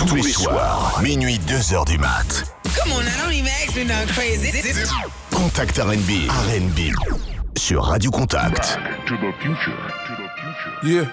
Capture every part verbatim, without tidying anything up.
Tous les soirs, minuit deux heures du mat. Come on, I don't even ask me nothing crazy. Contact R and B, R and B sur Radio Contact. To the future. To the future. Yeah.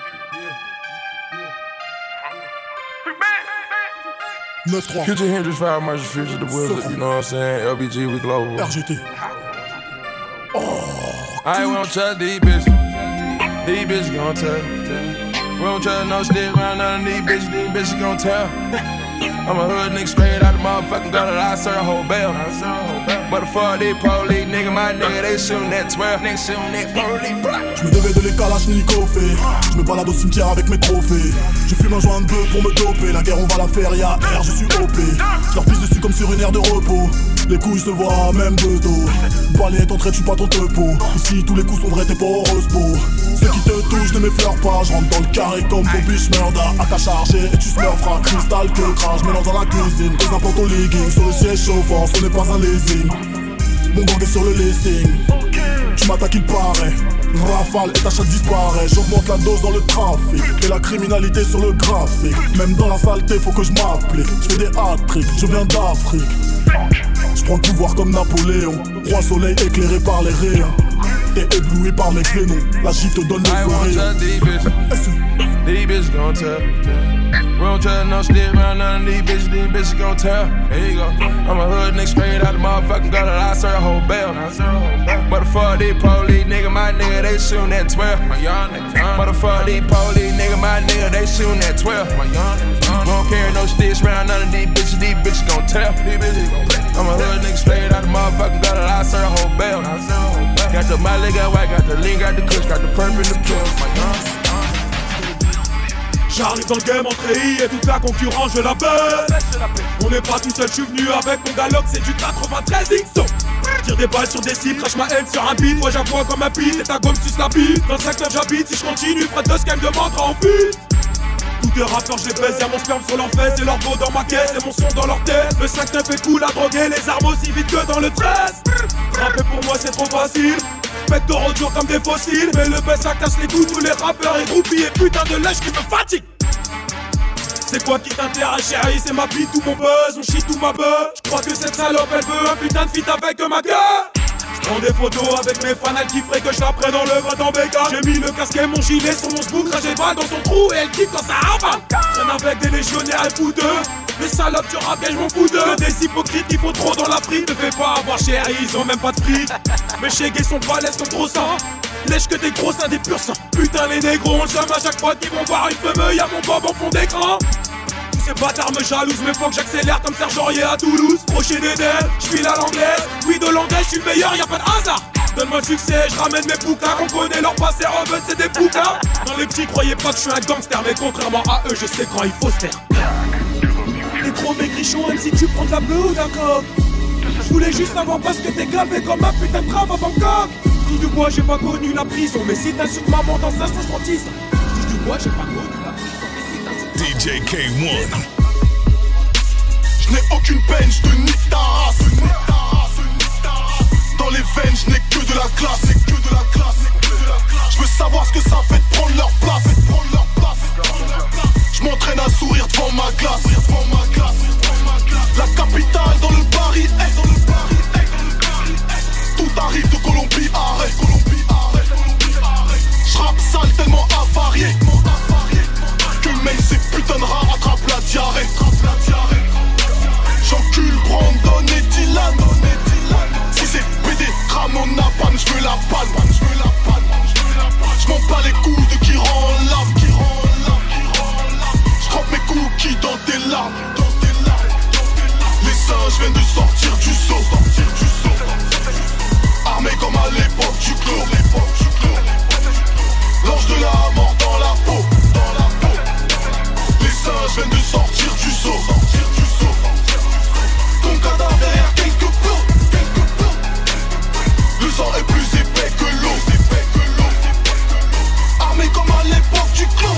neuf trois. Future Hendrix, Fire Marshall, Future, The Wizard, you know what I'm saying? L B G, we global. R G T. Oh, I ain't won't trust these bitches. These bitches gon' tell. We don't trust no stick around none of these bitches. These bitches gon' tell. I'm a hood nigga straight out the motherfucking gutter. I serve a whole bell. But the fuck these police, nigga, my nigga, they shootin' that twelve. Nigga shootin' that police. Je me devais de les Kalachnikov. Je me balade au cimetière avec mes trophées. Je fume un joint de bœuf pour me doper. La guerre on va la faire, y'a R, je suis O P. Je leur pisse dessus comme sur une aire de repos. Les couilles se voient même de dos. Balai ton trait, tu pas ton tepo. Ici tous les coups sont vrais, t'es pas heureuse beau. Ceux qui te touchent ne m'effleurent pas. Je rentre dans le carré comme Bobby Schmerda. À ta chargée et tu smurferas. Cristal que crache, mélange dans la cuisine. Des implants au legging, sur le siège chauffant, ce n'est pas un leasing. Mon gang est sur le listing. Tu m'attaques il paraît. Rafale et ta chatte disparaît. J'augmente la dose dans le trafic. Et la criminalité sur le graphique. Même dans la saleté faut que je m'applique. Je fais des hat-tricks, je viens d'Afrique. Je prends le pouvoir comme Napoléon. Roi soleil éclairé par les rayons. T'es ébloui par mes clénons. La J te donne les oreilles. These bitches gon' tell. We don't trust no stick around none of these bitches. These bitches gon' tell. There you go. I'm a hood nigga straight out the motherfucking gutter. I serve a whole bell. But the fuck these police, nigga, my nigga, they shootin' that twelve. But the fuck these police, nigga, my nigga, they shootin' that twelve. We don't carry no sticks around none of these bitches. These bitches gon' tell. I'm a hood nigga straight out the motherfucking gutter. I serve a whole bell. Got the Miley, got white, got the lean, got the kush, got the purple in the pill. J'arrive dans le game en treillis et toute la concurrence je la baisse. On n'est pas tout seul, je suis venu avec mon Galox, c'est du quatre-vingt-treize X O. Tire des balles sur des cibles, crache ma haine sur un beat. Moi j'avoue comme un beat et ta gomme suce la bite. trente-cinq neuf j'habite, si je continue, Fred de Scam demandera en fuite. Tous les rappeurs je les baisse, y'a mon sperme sur leur fesse et leur go dans ma caisse et mon son dans leur tête. Le cinq neuf est cool à droguer, les armes aussi vite que dans le treize. Rapper pour moi c'est trop facile. Pectoraux durs comme des fossiles. Mais le baisse ça casse les coups, tous les rappeurs et groupies et putain de lèche qui me fatigue. C'est quoi qui t'intéresse chérie, c'est ma bite ou mon buzz, on chie tout ma buzz. J'crois que cette salope elle veut un putain de feat avec ma gueule. J'prends des photos avec mes fans, elle kifferait que je la prenne dans le vrai dans béca. J'ai mis le casque et mon gilet sur mon sbook, j'ai pas dans son trou et elle kiffe quand ça avale. Traîne avec des légionnaires et fouteux. Les salopes du rap et j'm'en fous d'eux. Des hypocrites qui font trop dans la frite. Ne fais pas avoir chérie, ils ont même pas de fric. Mes chégués sont balèzes comme gros sang. Lèche que des gros seins, des purs sang. Putain les négros on le somme à chaque fois qu'ils vont voir une fumeux. Y'a mon bob en fond d'écran. Tous ces bâtards me jalousent, mais faut que j'accélère comme Serge Aurier à Toulouse. Crochet des ailes, j'file à l'anglaise. Oui de l'anglaise, j'suis le meilleur, y'a pas de hasard. Donne-moi le succès, j'ramène mes bouquins. On connaît leur passé, en veut c'est des bouquins. Dans les petits, croyez pas que j'suis un gangster. Mais contrairement à eux, je sais quand il faut se taire. T'es trop maigrichon, même si tu prends de la bleue ou d'un coq. J'voulais juste savoir parce que t'es galbé comme un putain de crave à Bangkok. Dis du bois, j'ai pas connu la prison. Mais si t'insultes maman dans un sens, j'prends tisse. Dis du bois, j'ai pas connu la prison. D J K one. Je n'ai aucune peine, je te nique ta race. Dans les veines, je n'ai que de la classe. Que de la classe. Je veux savoir ce que ça fait de prendre leur place. Je m'entraîne à sourire devant ma classe. La capitale dans le Paris. Tout arrive de Colombie, arrête. Je rappe sale tellement avarié que même ces putains de rats attrapent la diarrhée. J'encule Brandon et Dylan. Si c'est P D, Ramon Napan, j'veux la palme. J'm'en bats les coups de qui rend l'âme. J'trempe mes cookies dans tes larmes. Les singes viennent de sortir du seau. Armés comme à l'époque du clos. L'ange de la mort dans la peau. Les singes viennent de sortir du seau. Ton cadavre derrière quelques plots. Le sang est plus épais que l'eau. Armés comme à l'époque du clos.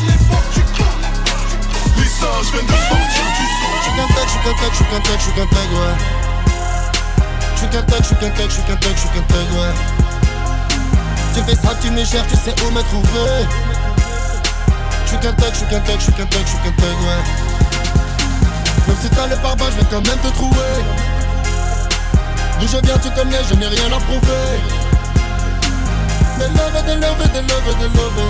Les singes viennent de sortir du seau. J'suis qu'un tech, j'suis qu'un tech, j'suis qu'un tech, j'suis qu'un tech, ouais. J'suis qu'un tech, j'suis qu'un tech, j'suis qu'un tech, j'suis qu'un tech, ouais. Tu fais ça, tu me cherches, tu sais où me trouver. J'suis qu'un tech, j'suis qu'un tech, j'suis qu'un tech, j'suis qu'un tech, ouais. quand même te trouver. D'où je viens tu connais, je n'ai rien à prouver. Des love, des love, des love, des love.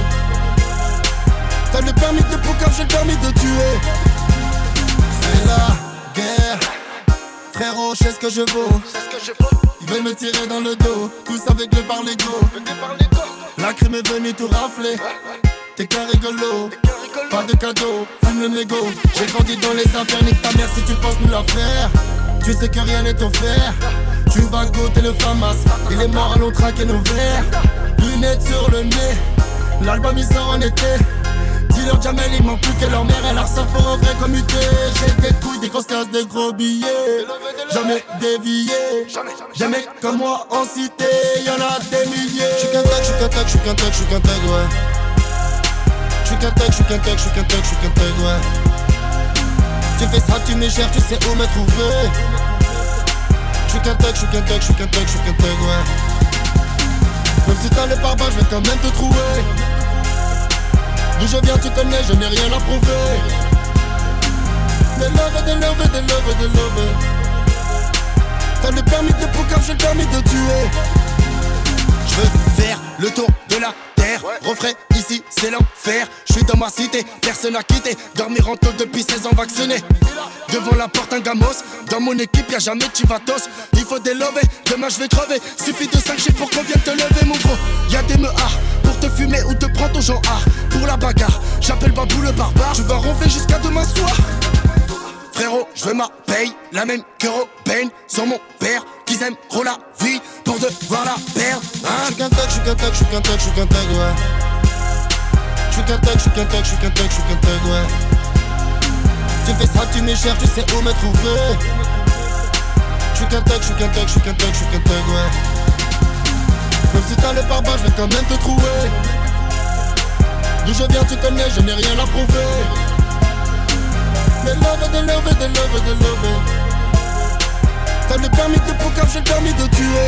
T'as le permis de poucave, j'ai le permis de tuer. C'est la guerre. Frérot, je sais ce que je vaux. Ils veulent me tirer dans le dos, tous avec le par l'ego. La crime est venue tout rafler. T'es qu'un rigolo, pas de cadeau, fume le mégot. J'ai grandi dans les affaires, nique ta mère si tu penses nous la faire. Tu sais que rien n'est offert. Tu vas goûter le famas. Il est mort, allons traquer nos verres. Lunettes sur le nez, l'album il sort en été. Dis-leur Jamel, il manque plus que leur mère. Elle a ressort pour un vrai comme U T. J'ai des couilles, des grosses tasses, des gros billets. Jamais dévié. Des mecs comme moi en cité, y'en a des milliers. J'suis qu'un tag, j'suis qu'un tag, j'suis qu'un tag, j'suis qu'un tag, ouais. J'suis qu'un tag, j'suis qu'un tag, j'suis qu'un tag, j'suis qu'un tag, ouais. Tu fais ça, tu me cherches, tu sais où me trouver. J'suis qu'un tag, j'suis qu'un tag, j'suis qu'un tag, j'suis qu'un tag, ouais. Même si t'as le pare-balles, j'vais quand même te trouver. D'où je viens tu connais, je n'ai rien à prouver. Des love, des love, des love, des love. T'as le permis de poucave, j'ai le permis de tuer. Je veux faire le tour de la terre. Refrais ici, c'est l'enfer. Je suis dans ma cité, personne n'a quitté. Dormir en tôle depuis seize ans vacciné. Devant la porte un gamos. Dans mon équipe y'a jamais de chivatos. Il faut des lovés, demain je vais crever. Suffit de cinq chiffres pour qu'on vienne te lever mon gros. Y'a des meuhards pour te fumer ou te prendre ton genre art. Pour la bagarre, j'appelle Babou le barbare. Tu vas ronfler jusqu'à demain soir. Frérot, je veux ma paye, la même que Robin. Sur mon père, qu'ils aimeront la vie pour devoir la perdre, hein. J'suis qu'un tag, j'suis qu'un tag, j'suis qu'un tag, j'suis qu'un tag, ouais. J'suis qu'un tag, j'suis qu'un tag, j'suis qu'un tag, j'suis qu'un tag, ouais. Tu fais ça, tu me cherches, tu sais où me trouver. J'suis qu'un tag, j'suis qu'un tag, j'suis qu'un tag, j'suis qu'un tag, ouais. Même si t'as le pare-balles, j'vais quand même te trouver. D'où je viens, tu connais, je n'ai rien à prouver. Des love, des love, des love, des love. T'as le permis de poucave, j'ai le permis de tuer.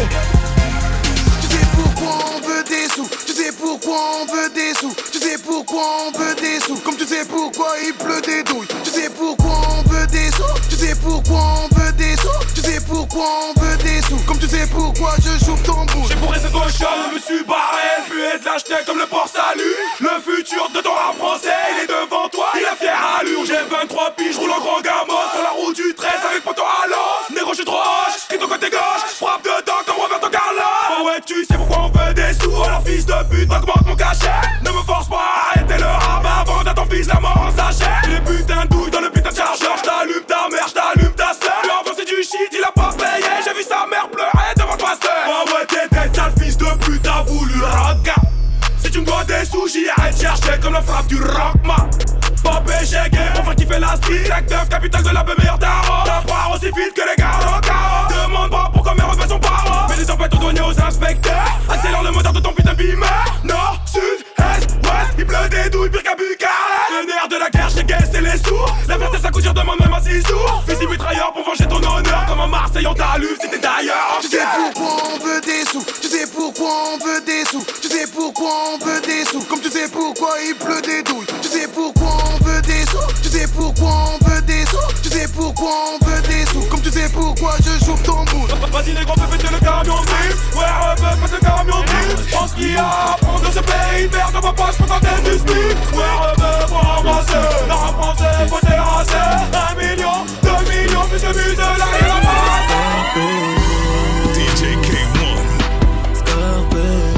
Tu sais pourquoi on veut des sous. Tu sais pourquoi on veut des sous. Tu sais pourquoi on veut des sous. Comme tu sais pourquoi il pleut des douilles. Tu sais pourquoi on veut des sous. Tu sais pourquoi on veut des sous. Tu sais pourquoi on veut des sous. Comme tu sais pourquoi je joue ton bout. J'ai fourré cette cochon, je me suis barré. Le but est de l'acheter comme le port salut. Le futur de ton rap français, il est devant toi, il a fière allure. J'ai vingt-trois piges, je roule en grand gamos. Sur la route du treize avec poteau à l'os. Négro, je suis trop hoche, crie ton côté gauche. Frappe dedans comme Roberto Carlos. Oh ouais, tu sais pourquoi on veut des sous. Alors fils de pute, augmente mon cachet. Ne me force pas à arrêter le rap avant d'être ton fils la mort en sachet. Les putains de douilles dans le putain de chargeur. J't'allume ta mère, j't'allume ta sœur. Lui avant c'est du shit, il a pas payé. J'ai vu sa mère pleurer devant le pasteur. Oh ouais, t'es tête sale fils de pute, t'as voulu rock. Si tu me dois des sous, j'y arrête chercher comme la frappe du rockman. Pas péché, on va kiffer la street. Secteur capitale de la meilleure tarot. T'apprends aussi vite que les garros. Demande pas pourquoi mes refs sont pas. Mets des tempêtes aux douaniers aux inspecteurs. Accélère le moteur de ton putain de beamer. Nord, sud, est, ouest, il pleut des douilles, pire qu'à Bucarest. Le nerf de la guerre, j't'ai guessé les sourds. La vérité sa couture demande même à six jours. Fusil mitrailleur pour venger ton honneur. Comme un Marseille on t'allume si t'es d'ailleurs. Tu sais pourquoi on veut des sous. Tu sais pourquoi on veut des sous. Tu sais pourquoi on veut des sous. Comme tu sais pourquoi il pleut des douilles. Tu sais pourquoi on veut des sous. Tu sais pourquoi on veut des sous. Tu sais pourquoi on veut des sous. Comme tu sais pourquoi je joue ton bout. Vas-y les grands, fais péter le camion de. Ouais, refais péter le camion de. Pense qu'il y a à prendre de ce pays. Merde, on va pas se contenter du smic. Ouais, refais pour ramasser. La rap français, faut terrasser. Un million, deux millions, plus de musée, la rien à passer. D J K one. Scarface,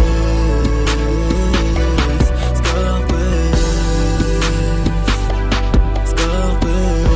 Scarface, Scarface.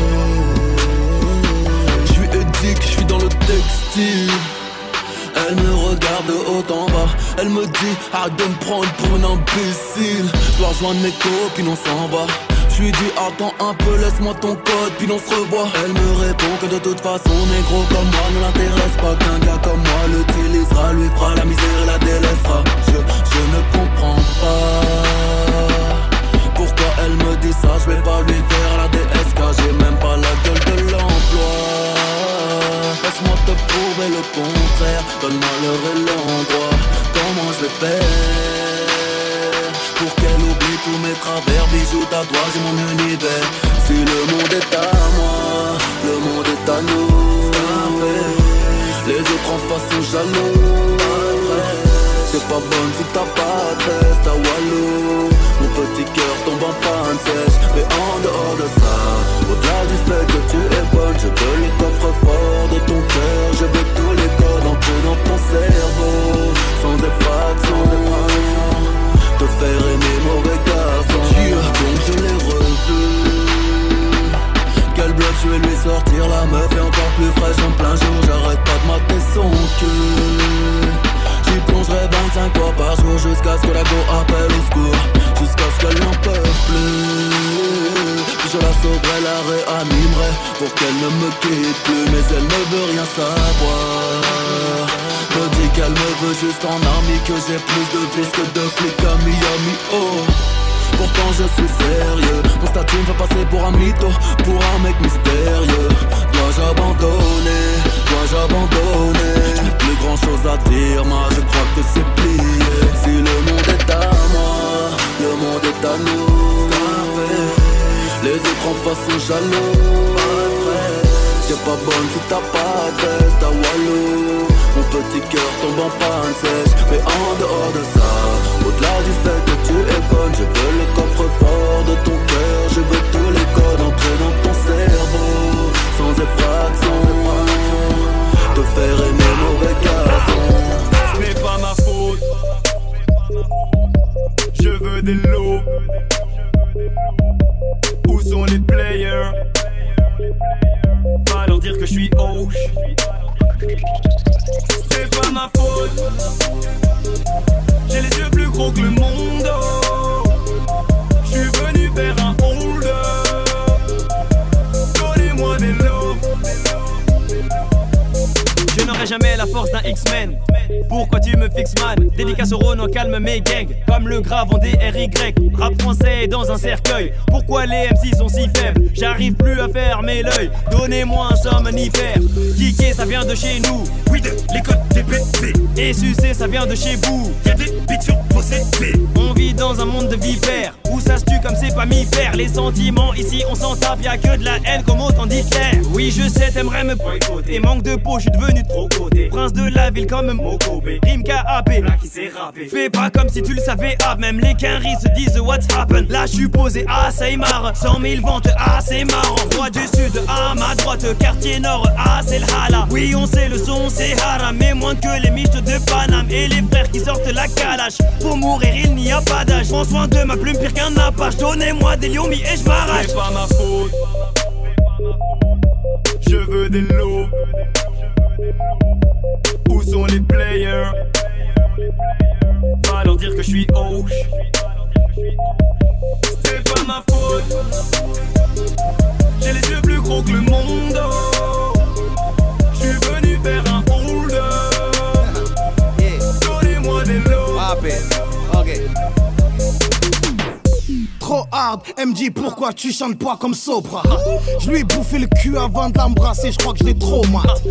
J'suis éthique, j'suis dans le textile. Elle me regarde de haut en bas. Elle me dit arrête de me prendre pour un imbécile. Dois rejoindre mes copines, on s'en va. J'lui dis attends un peu, laisse-moi ton code, puis on se revoit. Elle me répond que de toute façon, négro comme moi ne l'intéresse pas. Qu'un gars comme moi l'utilisera, lui fera la misère et la délaissera. Je, je ne comprends pas pourquoi elle me dit ça. Je vais pas lui faire la D S K, j'ai même pas la gueule de l'emploi. Laisse-moi te prouver le contraire, donne-moi l'heure et l'endroit. Comment je vais faire pour qu'elle oublie tous mes travers? Bijoux, tatouages et mon univers. Si le monde est à moi, le monde est à nous. jaloux. T'es pas bonne si t'as pas de test, t'as Walou. Mon petit cœur tombe en panne sèche. Mais en dehors de ça, au-delà du fait que tu es bonne, je veux le coffre-fort de ton cœur. Je veux tous les codes entrés dans ton cerveau, sans effraction, te faire aimer mauvais garçon. Donc je l'ai revu. Quel bluff, je vais lui sortir la meuf est encore plus fraîche en plein jour. J'arrête pas de mater son cul. J'y plongerai vingt-cinq fois par jour jusqu'à ce que la go appelle au secours, jusqu'à ce qu'elle n'en peut plus. Puis je la sauverai, la réanimerai pour qu'elle ne me quitte plus. Mais elle ne veut rien savoir. Me dit qu'elle me veut juste en ami, que j'ai plus de vis que de flics à Miami. Oh, pourtant je suis sérieux. Mon statut me fait passer pour un mytho, pour un mec mystérieux. Dois-je abandonner? Dois-je abandonner? Je n'ai plus grand chose à dire, moi je crois que c'est plié. Si le monde est à moi, le monde est à nous. Les autres en face sont jaloux. T'es pas bonne si t'as pas de test, t'as Walou. Mon petit cœur tombe en panne sèche. Mais en dehors de ça, au-delà du fait que tu es bonne, je veux le coffre-fort de ton cœur. Je veux tous les codes entrés dans ton cerveau, sans effraction, te faire aimer mauvais garçon. Ce n'est pas ma faute. Je veux des lots. Où sont les players? Va leur dire que je suis hoche. C'est pas ma faute. J'ai les yeux plus gros que le monde. Je suis venu faire un hold up. Donnez-moi des lots. Je n'aurai jamais la force d'un X-Men. Pourquoi tu me fixes man? Dédicace au Renault, calme mes gangs. Comme le grave en D R Y. Rap français dans un cercueil. Pourquoi les M C sont si faibles? J'arrive plus à fermer l'œil. Donnez-moi un somnifère. Kicker ça vient de chez nous. Oui de l'école des P C. Et sucer ça vient de chez vous. Y'a des bites sur vos C P. On vit dans un monde de vipères où ça se tue comme c'est pas mi faire. Les sentiments ici on s'en tape. Y'a que de la haine comme autant d'Hitler. Oui je sais t'aimerais me boycotter. Manque de peau je suis devenu trop côté. Prince de la ville comme Mokobé. Rime K A P, là qui s'est rappé. Fais pas comme si tu le savais, ah même les quinries se disent what's happened. Là je suis posé, ah ça y marre. Cent mille ventes, ah c'est marrant. Roi du sud, ah ma droite. Quartier nord, ah c'est le hala. Oui on sait le son c'est haram. Mais moins que les miches de Paname. Et les frères qui sortent la calache. Pour mourir il n'y a pas d'âge. Prends soin de ma plume pire qu'un apache. Donnez-moi des lions et je m'arrache. C'est pas ma faute. Je veux des lots. Où sont les players? Va leur dire que je suis hoche. C'est pas ma faute. J'ai les yeux plus gros que le monde. Je suis venu faire un hold up. Donnez-moi des lots. Ok. Trop hard, M J pourquoi tu chantes pas comme Sopra? Je lui ai bouffé le cul avant de l'embrasser, je crois que je l'ai trop mat.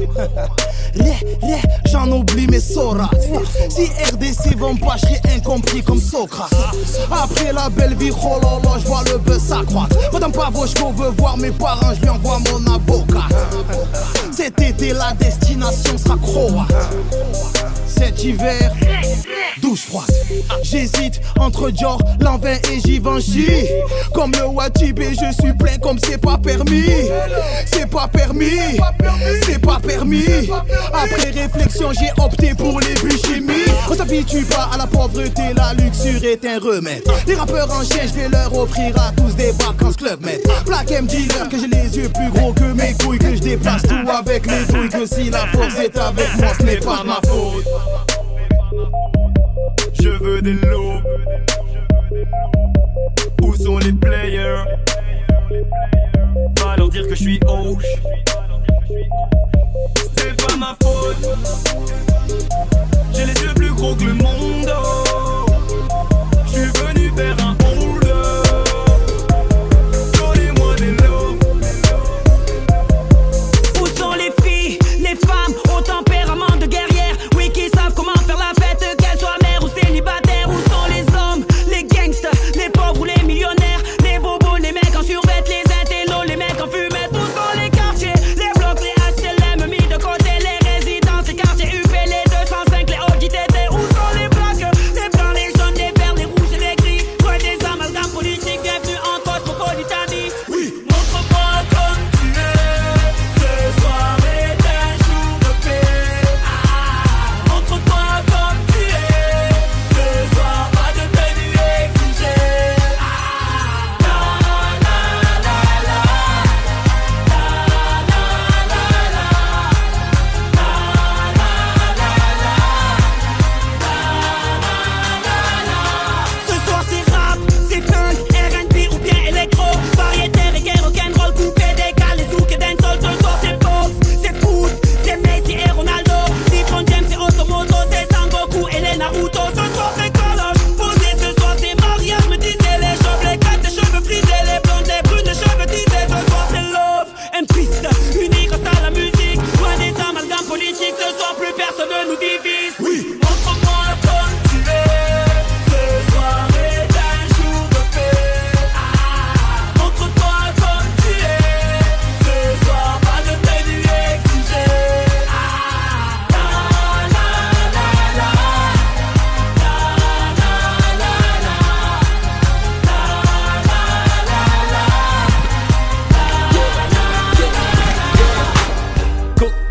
J'en oublie mes soras. Si R D C vont pas, je serai incompris comme Socrate. Après la belle vie, oh là là, je vois le buzz s'accroître. Madame Pavoshko veut voir mes parents, je lui envoie mon avocat. Cet été la destination sera croate. Cet hiver, douche froide. J'hésite entre Dior, Lanvin et Givenchy. Comme le Watibé, je suis plein comme c'est pas permis. C'est pas permis, c'est pas permis. Après réflexion, j'ai opté pour les buts-chimies. On s'habitue pas à la pauvreté, la luxure est un remède. Les rappeurs en chien, je vais leur offrir à tous des vacances Club Med. Black M dealer, que j'ai les yeux plus gros que mes couilles, que je déplace tout avec les douilles. Que si la force est avec moi, ce n'est pas ma faute. Je veux des lots. Où sont les players? Va leur dire que je suis hoche. C'est pas ma faute. J'ai les yeux plus gros que le monde. Je suis venu faire un hold up. Donnez-moi des lots. Où sont les filles, les femmes au tempérament de guerrière? Oui, qui savent comment faire la fête, qu'elles soient mères ou célibataires. Où sont les hommes, les gangsters, les pauvres ou les millionnaires? Les bobos, les mecs en survêt, les intellos, les mecs en fumette. Où sont les quartiers, les blocs, les H L M mis de côté, les résidences, les quartiers U P, les deux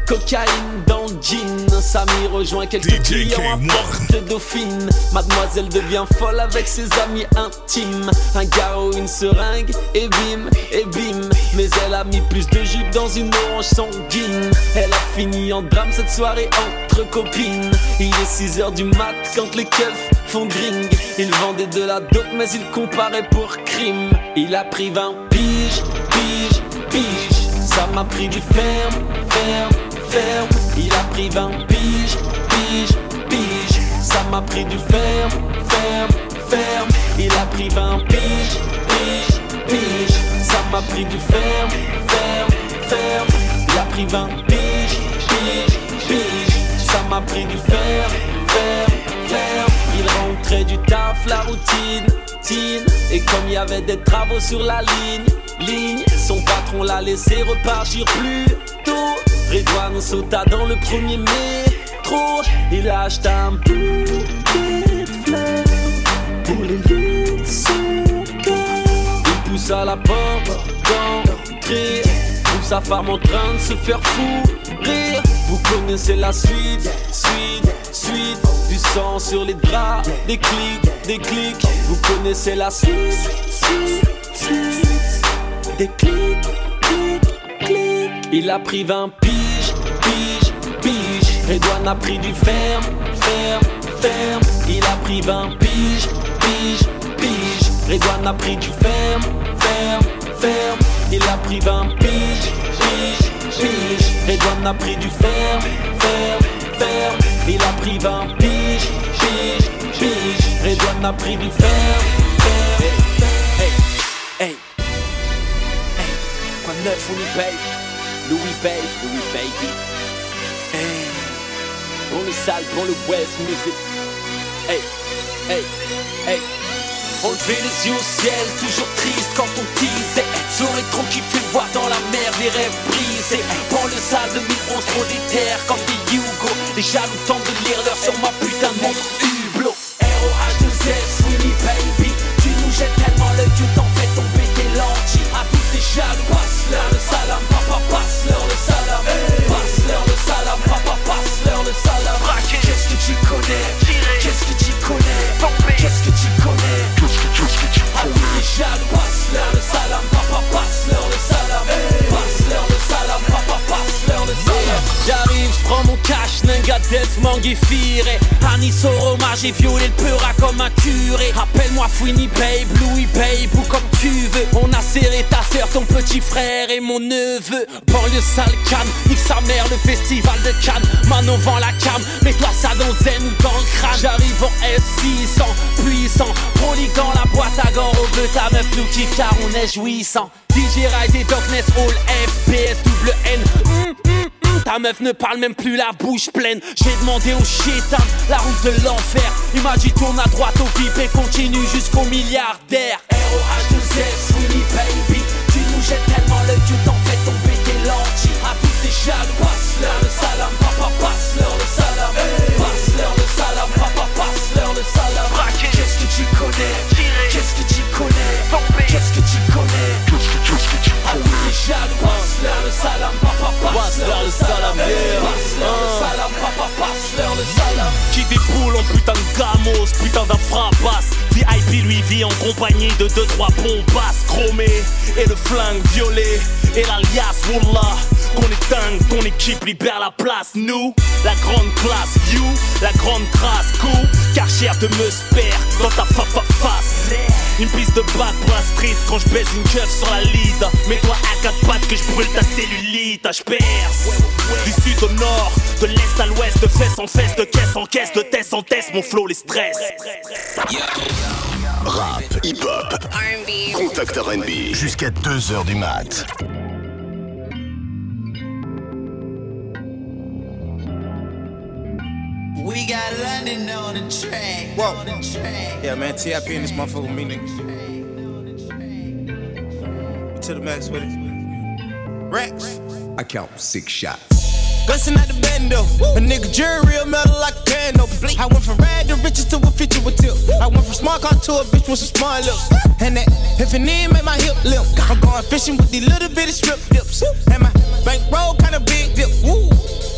cocaïne dans le jean. Samy rejoint quelques clients à Porte Dauphine. Mademoiselle devient folle avec ses amis intimes. Un garrot, une seringue, et bim, et bim. Mais elle a mis plus de jus dans une orange sanguine. Elle a fini en drame cette soirée entre copines. Il est six heures du mat quand les keufs font gring. Il vendait de la dope mais il comparait pour crime. Il a pris vingt piges, piges, piges. Ça m'a pris du ferme, ferme, ferme. Il a pris vingt piges, piges, piges. Ça m'a pris du ferme, ferme, ferme. Il a pris vingt piges, piges, piges. Ça m'a pris du ferme, ferme, ferme. Il a pris vingt piges, piges, piges. Ça m'a pris du ferme, ferme, ferme. Il rentrait du taf, la routine, tine. Et comme il y avait des travaux sur la ligne, ligne, son patron l'a laissé repartir plus tôt. Redouane sauta dans le premier métro. Il a acheté un bouquet de fleurs pour les lieux de son cœur. Il poussa la porte d'entrée, trouve sa femme en train de se faire fou rire. Vous connaissez la suite, suite, suite. Du sang sur les draps, des clics, des clics. Vous connaissez la suite, suite, suite. Des clics, clics, clics. Il a pris vingt piges, piges, piges. Redouane a pris du ferme, ferme, ferme. Il a pris vingt piges, piges, piges. Redouane a pris du ferme, ferme, ferme. Il a pris vingt piges, piges, piges. Redouane a pris du ferme, ferme, ferme. Il a pris vingt piges, piges, piges. Redouane a pris du ferme, ferme. Hey, hey, hey. Quoi de neuf, on y paye. Louis paye, Louis baby. Hey. Pour le sale, pour le West Music. Hey, hey, hey. On levait les yeux au ciel, toujours triste quand on disait j'aurais trop kiffé voir dans la mer les rêves brisés. Prends le sale de mille onze, trop déter comme des Hugo. Les jaloux tentent de lire l'heure sur ma putain de montre Hublot. R O H deux S, Winnie baby. Tu nous jettes tellement l'œil que t'en fais tomber tes lentilles. À tous ces jaloux, passe-leur le salam, papa, passe-leur le salam. Passe-leur le salam, papa, passe-leur le salam. Qu'est-ce que tu connais? Qu'est-ce que tu connais? Qu'est-ce que tu connais? À tous les jaloux, passe-leur le salam, papa, passe-leur le salam. Passe-leur le salam, papa, passe-leur le salam. J'arrive, j'prends mon cash, Nenga Death, Manguifire. Anis au Roma, j'ai violé le peura comme un curé. Appelle-moi Fouini Babe, Louis Babe ou comme tu veux. On a serré ta sœur, ton petit frère et mon neveu. Banlieue sale Cannes, nique sa mère, le festival de Cannes. Manon vend la cam, mets-toi ça dans zen ou dans le crâne. J'arrive en S six cents, puissant. Prolique dans la boîte à gants, au bleu, ta meuf nous kiffe car on est jouissant. D J Rise et Darkness, All F P S, double N. Mm, mm, mm, ta meuf ne parle même plus la bouche pleine. J'ai demandé au chétan la route de l'enfer. Il m'a dit tourne à droite au V I P et continue jusqu'au milliardaire. R O H deux S, Winnie baby. Tu nous jettes tellement l'œil que t'en fais tomber tes lentilles. À tous ces jaloux, passe-leur le salam, papa, passe-leur le salam. Passe-leur le salam, papa, passe-leur le salam. Qu'est-ce que tu connais? Qu'est-ce que tu connais? Qu'est-ce que tu connais? À tous les jaloux, passe-leur le salam, papa, passe-leur le salam. Passe-leur le salam, papa, passe-leur le salam. Qui déboule en putain de gamos, putain d'un fracasse. V I P lui vit en compagnie de deux trois bombasses chromées. Et le flingue violet, et l'alias Wallah. Qu'on est dingue, ton équipe libère la place. Nous, la grande classe, you, la grande trace. Cool, car cher de me spare dans ta fa fa face. Une piste de bac pour la street quand je baise une keuf sur la lead. Mets-toi à quatre pattes que je brûle ta cellulite. Je perce du sud au nord, de l'est à l'ouest, de fesse en fesse, de caisse en caisse, de test en test, mon flow les stress. Rap, hip-hop, R and B, Contact R and B, jusqu'à deux heures du mat. We got London on the track. Whoa. On the track. Yeah, man, T I P in this motherfucker with me, nigga. To the max with it. Rex. I count six shots. Bustin' out the bando. A nigga jury real metal like a candle. I went from rad to riches to a feature with tip. I went from smart car to a bitch with some smart lips. And that if an end make my hip limp. I'm going fishing with these little bitty strip dips. And my bankroll kinda big dip. Woo.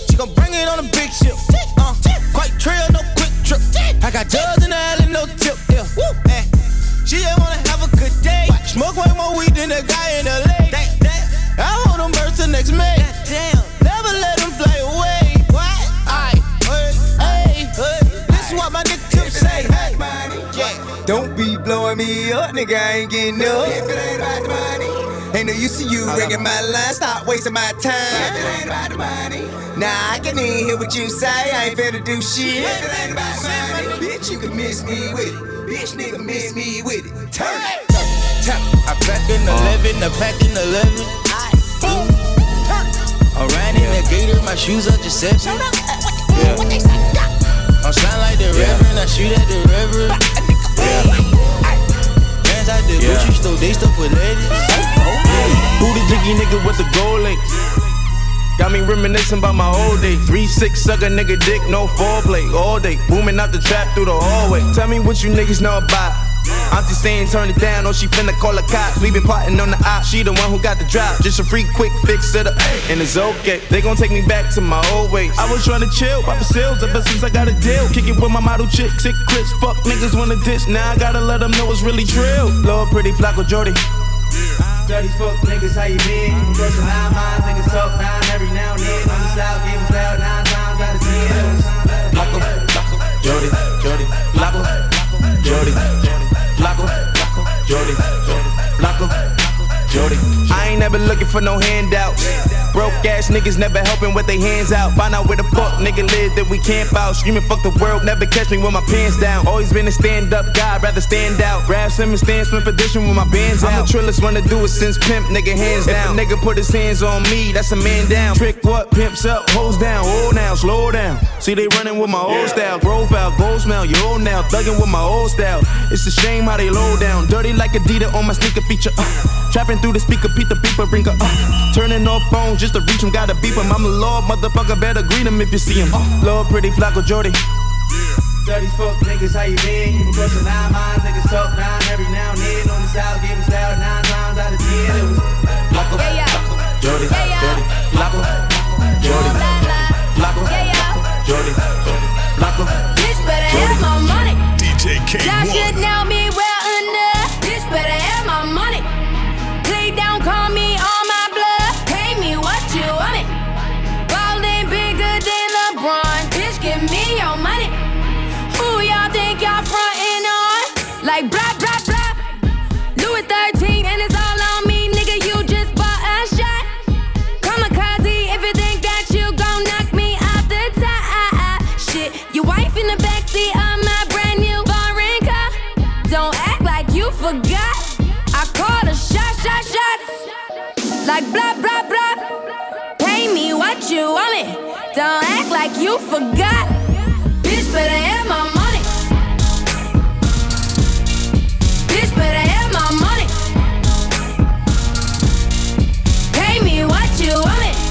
me up, nigga, I ain't getting up. If it ain't about the money, ain't no use to you ringing my line. Stop wasting my time. If it ain't about the money, nah, I can even hear what you say. I ain't finna do shit. If it ain't about the money, bitch, you can miss me with it. Bitch, nigga, miss me with it. Turn it, turn it. I pack in eleven, I pack in eleven. I ran in the gator, my shoes are just set. Yeah. I'm sound like the yeah. Reverend, I shoot at the Reverend. Yeah. Hands out the yeah. Gucci store, they stuff with ladies. Who the jiggy nigga with the gold links? Got me reminiscing about my old days. three six suck a nigga dick, no foreplay. All day, booming out the trap through the hallway. Tell me what you niggas know about. Auntie saying turn it down, or she finna call the cops. We been plotting on the op, she the one who got the drop. Just a free quick fix it up, and it's okay. They gon' take me back to my old ways. I was tryna chill, pop the sales ever since I got a deal. Kick it with my model chick, sick Chris. Fuck niggas wanna diss, now I gotta let them know it's really trill. Lord pretty Flacco Jordy. Dirty fuck niggas, how you been? You brushing nine minds, niggas talk nine every now and then. On the south, give them style nine times out of ten. Flacco, Flacco, Jordy, Jordy, Flacco, Jordy, Flacco, Jordy, Flacco, Jordy. I ain't never looking for no handouts. Broke ass niggas never helping with their hands out. Find out where the fuck nigga live, then we camp out. Screaming fuck the world, never catch me with my pants down. Always been a stand up guy, rather stand out. Grab Simmons, stand Smith edition with my bands out. I'm the trillest one to do it since pimp, nigga hands down. If a nigga put his hands on me, that's a man down. Trick what, pimps up, hoes down. Old now, slow down. See they running with my old style. Grove out, gold smell, you old now. Thugging with my old style. It's a shame how they low down. Dirty like Adidas on my sneaker feature. Uh. Trapping through the speaker, Pete the beeper, bring her uh. Turning off phones just to reach him, gotta beep him. I'm a lord, motherfucker, better greet him if you see him. Uh. Lord, pretty Flacco Jordy. Dirty fuck niggas, how you been? You been brushing nine minds, niggas talk nine every now and then. On the south, give him style nine times out of ten. It was Flacco, yeah, yeah. Flacco, Jordy, yeah, yeah. Jordy, Flacco, Jordy, Flacco, yeah, yeah. Jordy, Flacco. Bitch better have my money. D J K one. Y'all should know me well enough. Bitch better have my money. Please don't call me on my blood. Pay me what you want it. Ballin' bigger than LeBron. Bitch, give me your money. Who y'all think y'all frontin' on? Like blah, blah, blah. Louis thirteen and it's all on me. Nigga, you just bought a shot. Kamikaze if you think that you gon' knock me off the top. Shit, your wife in the backseat of my brand new foreign car. Don't act like you forgot. I called a shot, shot, shots. Like blah, blah, blah. Pay me what you want it. Don't act like you forgot. Bitch better have my money. Bitch better have my money. Pay me what you want it.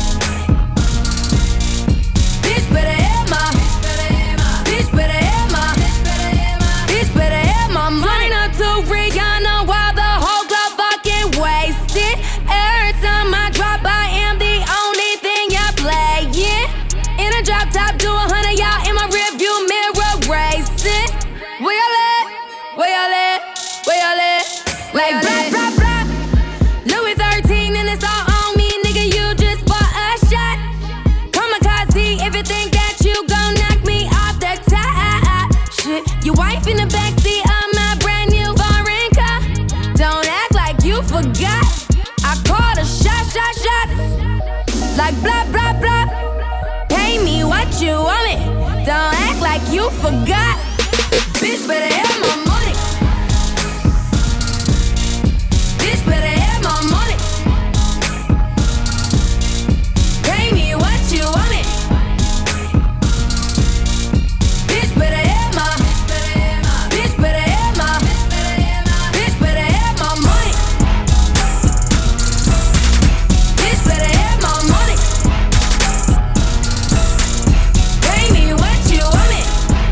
Bitch better have my. Bitch better have my. Bitch better have my money. Up to Rihanna while the whole club fucking wasted. Every time I drop, I am the only thing y'all playing. In a drop top, do a hundred y'all in my rearview mirror racing. Where y'all at? Where y'all at? Where y'all at? Like blah, blah, blah. Louis thirteen and it's all on me, nigga, you just bought a shot. Kamikaze if you think that you gon' knock me off the top. Shit, your wife in the backseat of my brand new foreign car. Don't act like you forgot. I called a shot, shot, shots. Like blah, blah, blah. Pay me what you want it. Don't act like you forgot. Bitch better have my money. Bitch better have my money. Pay me what you want it. Bitch better have my. Bitch better have my. Bitch better have my money. Bitch better have my money. Pay me what you want it.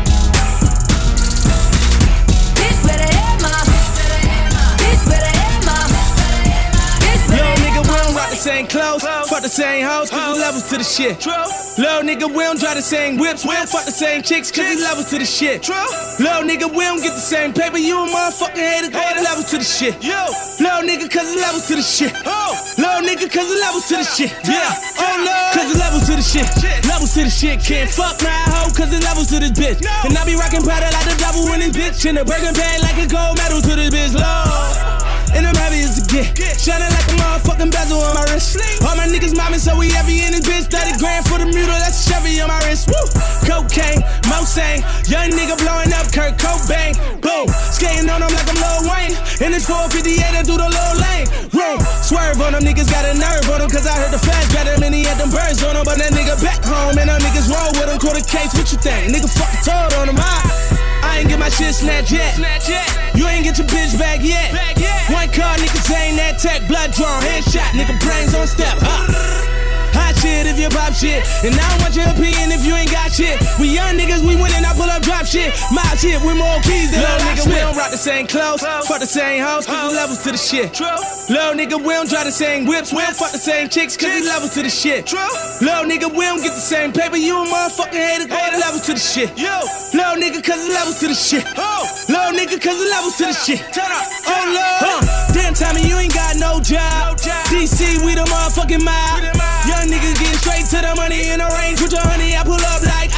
Bitch better have my. Bitch better have my. Little nigga, we don't rock the same clothes, fuck the same hoes, cause there's levels to the shit. Little nigga, we don't drive the same whips, we don't fuck the same chicks, cause there's levels to the shit. Little nigga, we don't get the same paper, you a motherfucking hater, go the levels to the shit. Little nigga, cause there's levels to the shit. Little nigga, cause there's levels to the shit. Yeah, oh no, cause there's levels to the shit. Levels to the shit. Can't fuck my hoe, cause there's levels to this bitch. And I be rockin' powder like the devil in this bitch. In a burger bag like a gold medal to this bitch, Lord. And I'm heavy as a get. Shining like a motherfucking bezel on my wrist. All my niggas mobbing, so we heavy in this bitch. thirty grand for the mule, that's a Chevy on my wrist. Woo! Cocaine, Mosang. Young nigga blowing up Kurt Cobain. Boom! Skating on them like I'm Lil Wayne. In this four fifty-eight, I do the low lane. Room. Swerve on them, niggas got a nerve on them. Cause I heard the flash better than he had them birds on him. But that nigga back home, and them niggas roll with him. Quarter case, what you think? Nigga fucking told on him. I, I ain't get my shit snatched yet. You ain't get your bitch back yet. One car, niggas ain't that tech. Blood drawn, headshot, nigga brains on step. Huh? Hot shit if you pop shit. And I don't want your opinion if you ain't got shit. We young niggas, we winning, I pull up drop shit. My shit with more keys than little nigga, we don't rock the same clothes. Fuck the same hoes, cause the levels to the shit. Little nigga, we don't drive the same whips. We don't fuck the same chicks, cause the levels to the shit. Little nigga, we don't get the same paper. You a motherfucking hater, go the levels to the shit. Little nigga, cause the levels to the shit. Little nigga, cause the levels to the shit. Oh Lord, damn Tommy, you ain't got no job. D C, we the motherfucking mob. Young niggas getting straight to the money in the range with your honey. I pull up like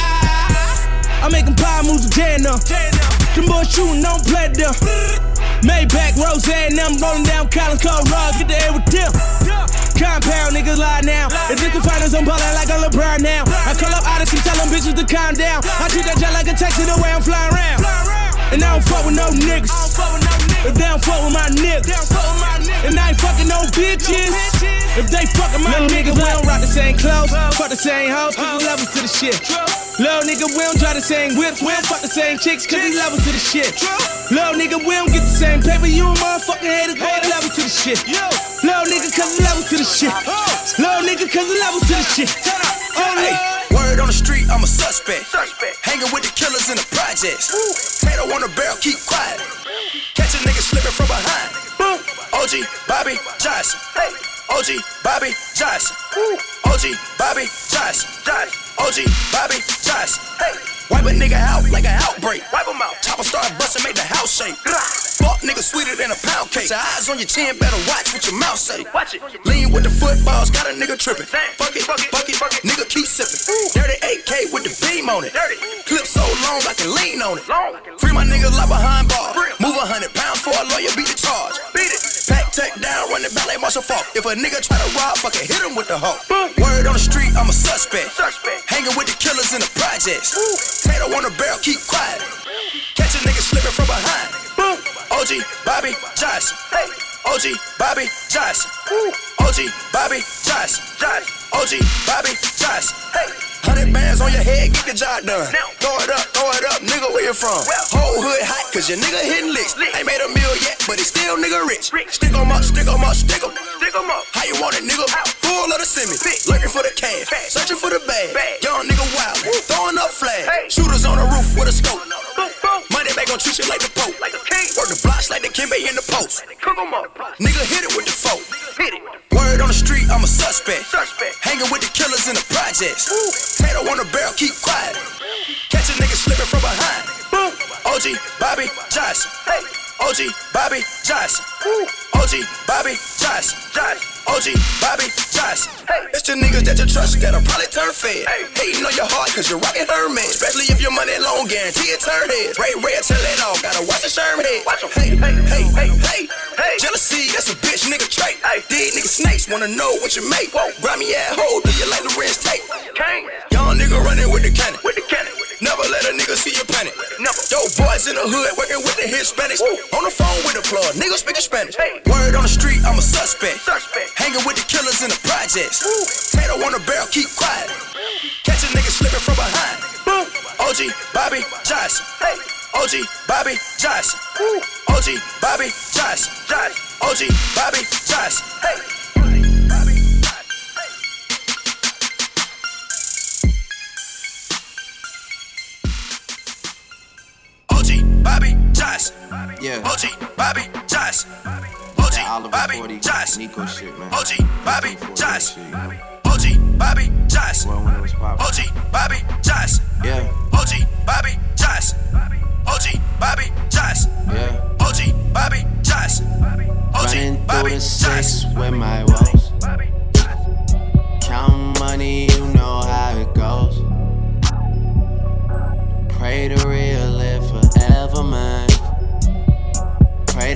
ah. I'm making power moves with Jan up. Them boys shooting, don't play them. Maybach, Rose, and them rolling down Collins Cold Rug. Get the air with them. Compound niggas lie now. It's just the finals, I'm ballin' like I'm LeBron now. I call up Odyssey, tell them bitches to calm down. I treat that jet like a taxi the way I'm flying around. And I don't fuck with no niggas. If they don't fuck with my niggas. And I ain't fucking no bitches. If they fucking my niggas, we don't rock the same clothes. Fuck the same hoes, cause the levels to the shit. Little nigga, we don't drive the same whips. We don't fuck the same chicks, cause the levels to the shit. Little nigga, we don't get the same paper. You a motherfucking hater, go the levels to the shit. Little nigga, cause the levels to the shit. Little nigga, cause the levels to the shit. Oh, hey. Word on the street, I'm a suspect. suspect. Hanging with the killers in the projects. Tato on the barrel, keep quiet. Catch a nigga slipping from behind. Boom. O G, Bobby Johnson. Hey. O G, Bobby Johnson. O G, Bobby Johnson. O G, Bobby Johnson. Hey. Wipe a nigga out like an outbreak. Wipe him out. Chopper start bustin', make the house shake. Fuck nigga sweeter than a pound cake. Your eyes on your chin, better watch what your mouth say. Watch it. Lean with the footballs, got a nigga trippin'. Fuck it, fuck it, fuck it, fuck it. Nigga keep sippin'. Dirty eight K with the beam on it. Clip so long I can lean on it. Free my niggas like behind bars. Move a hundred pounds for a lawyer, beat the charge. Beat it. Pack tech down, run the ballet, Marshall Falk. If a nigga try to rob, fucking hit him with the hoe. Word on the street, I'm a suspect. Hanging with the killers in the projects. Tato on the barrel, keep quiet. Catch a nigga slipping from behind. O G, Bobby Johnson. O G, Bobby Johnson. O G, Bobby Johnson. O G, Bobby Johnson. Hundred bands on your head, get the job done. Throw it up, throw it up, nigga, where you from? Whole hood hot, cause your nigga hitting licks. Ain't made a meal yet, but it's still nigga rich. Stick 'em up, stick 'em up, stick 'em. How you want it, nigga? Full of the semi. Lurking for the cash, searching for the bag. Young nigga wild, throwing up flags. Shooters on the roof with a scope. Money back gon' treat you like the Pope. Work the blocks like the Kimbe in the post. Nigga hit it with the folk. Word on the street, I'm a suspect. Hanging with the killers in the projects. Tato on the barrel, keep quiet. Catch a nigga slipping from behind. O G, Bobby Johnson. O G, Bobby Johnson. O G, Bobby Johnson. O G, Bobby Johnson. It's the niggas that you trust that'll probably turn fed. Hating on your heart cause you're rockin' Hermes. Especially if your money long, guarantee it turn heads. Ray red, tell it all, gotta watch the Sherm head. Hey, hey, hey, hey, hey. Jealousy, that's a bitch nigga trait. These niggas snakes wanna know what you make. Grimy ass hoe, do you like the Lorenz tape? Young nigga running with the cannon. Never let a nigga see you panic. Yo, boys in the hood working with the Hispanics. On the phone with the plug, niggas speaking Spanish. Word on the street, I'm a suspect. Hanging with the killers in the projects. Tato on the barrel, keep quiet. Catch a nigga slipping from behind. O G, Bobby Johnson. O G, Bobby Johnson. O G, Bobby Johnson. O G, Bobby Johnson. O G, Bobby Johnson. Yeah. O G, Bobby Johnson. O G, Bobby Johnson. Nico shit, man. O G, Bobby Johnson. O G, Bobby Johnson. O G, Bobby Johnson. Yeah. O G, Bobby Johnson. O G, Bobby Johnson. Yeah. O G, Bobby Johnson. O G, Bobby Johnson. With my woes. Count money, you know how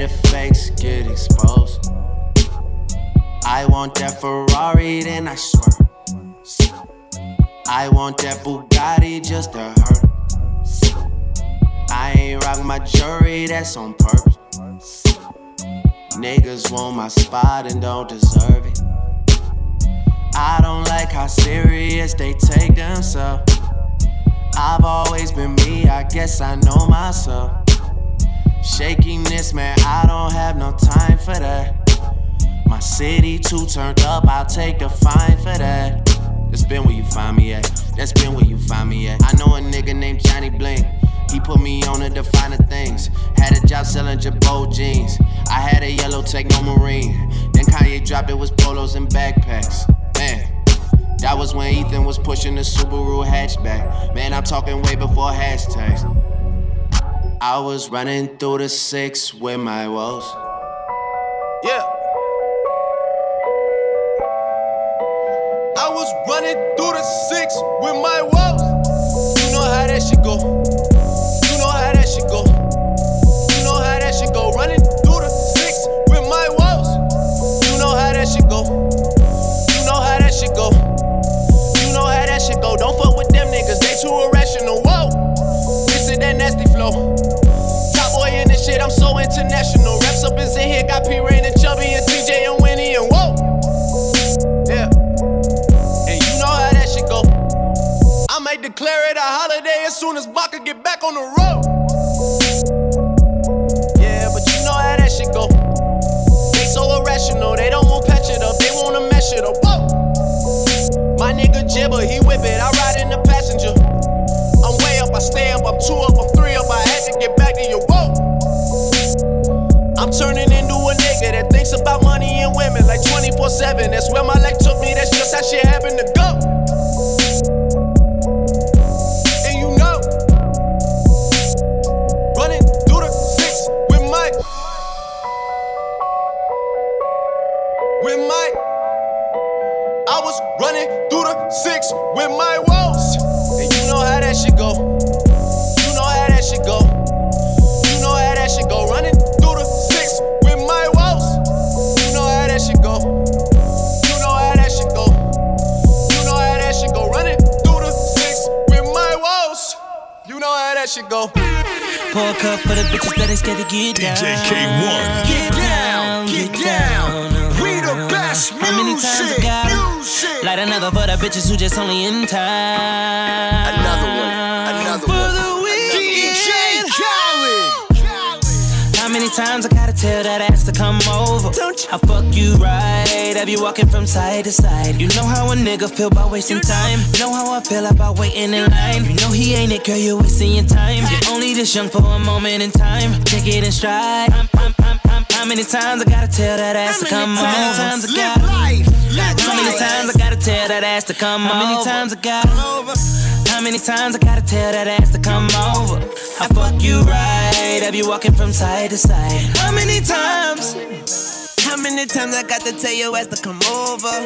the fakes get exposed. I want that Ferrari, then I swerve. I want that Bugatti just to hurt. I ain't rock my jewelry, that's on purpose. Niggas want my spot and don't deserve it. I don't like how serious they take themselves. I've always been me, I guess I know myself. Shakiness, man, I don't have no time for that. My city too turned up, I'll take the fine for that. That's been where you find me at. That's been where you find me at. I know a nigga named Johnny Bling. He put me on to the finer things. Had a job selling Jabot jeans. I had a yellow Techno Marine. Then Kanye dropped it was polos and backpacks. Man, that was when Ethan was pushing the Subaru hatchback. Man, I'm talking way before hashtags. I was running through the six with my woes. Yeah. I was running through the six with my woes. You know how that shit go. You know how that shit go. You know how that shit go. Running through the six with my woes. You know how that shit go. You know how that shit go. You know how that shit go. Don't fuck with them niggas, they too irrational. Whoa, this is that nasty flow. Top boy in this shit, I'm so international. Raps up is in here, got P Rain and Chubby and T J and Winnie and whoa. Yeah. I might declare it a holiday as soon as Baka get back on the road. Yeah, but you know how that shit go. They so irrational, they don't want patch it up, they wanna mesh it up. Whoa. My nigga Jibber, he whip it, I ride in the passenger. I'm way up, I stay up, I'm two up, I'm three up, I had to get back to you. Whoa. I'm turning into a nigga that thinks about money and women like twenty-four seven. That's where my life took me, that's just how shit happened to go. Running through the six with my woes. And you know how that shit go. You know how that shit go. You know how that shit go. Running through the six with my woes. You know how that shit go. You know how that shit go. You know how that shit go. Running through the six with my woes. You know how that shit go. Pour a cup for the bitches that ain't scared to get down. D J K one. Get down, get down. We the best music. How many times I got music. Light another for the bitches who just only in time. Another one, another for one. The weekend. D J Khaled. How many times I gotta tell that ass to come over? Don't you? I fuck you right. Have you walking from side to side? You know how a nigga feel about wasting time. You know how I feel about waiting in line. You know he ain't it, girl, you're wasting your time. You're only this young for a moment in time. Take it in stride. I'm, I'm, I'm, I'm, how many times I gotta tell that ass to come over? How many times I gotta life. How many times I gotta tell that ass to come over? How many times I gotta How many times I gotta tell that ass to come over? I fuck you right. Have you walking from side to side? How many times? How many times I got to tell your ass to come over?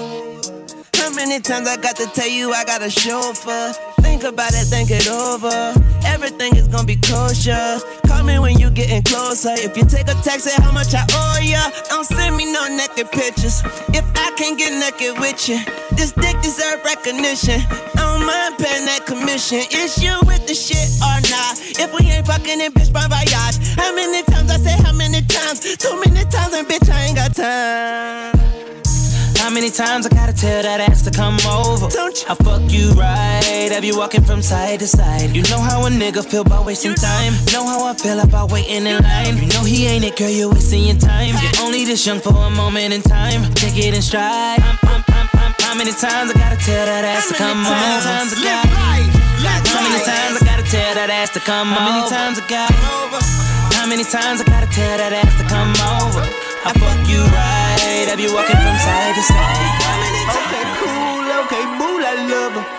How many times I got to tell you I got a chauffeur? Think about it, think it over. Everything is gonna be kosher. Call me when you getting closer. If you take a taxi, how much I owe ya? Don't send me no naked pictures. If I can't get naked with you, this dick deserve recognition. I don't mind paying that commission. Is you with the shit or not? If we ain't fucking it, bitch, bon voyage. How many times I say how many times? Too many times and bitch, I ain't got time. How many times I gotta tell that ass to come over? Don't you? I fuck you right. Have you walking from side to side? You know how a nigga feel about wasting time. Know how I feel about waiting in line. You know he ain't it, girl, you're wasting your time. You're only this young for a moment in time. Take it in stride. I'm, I'm, I'm, I'm, how many times I gotta tell that ass to come over? How many times I gotta How many times I gotta tell that ass to come over? How many times I gotta How many times I gotta tell that ass to come over? I fuck you right. Have you walking from side to side? Okay, cool, okay, boo, I love her.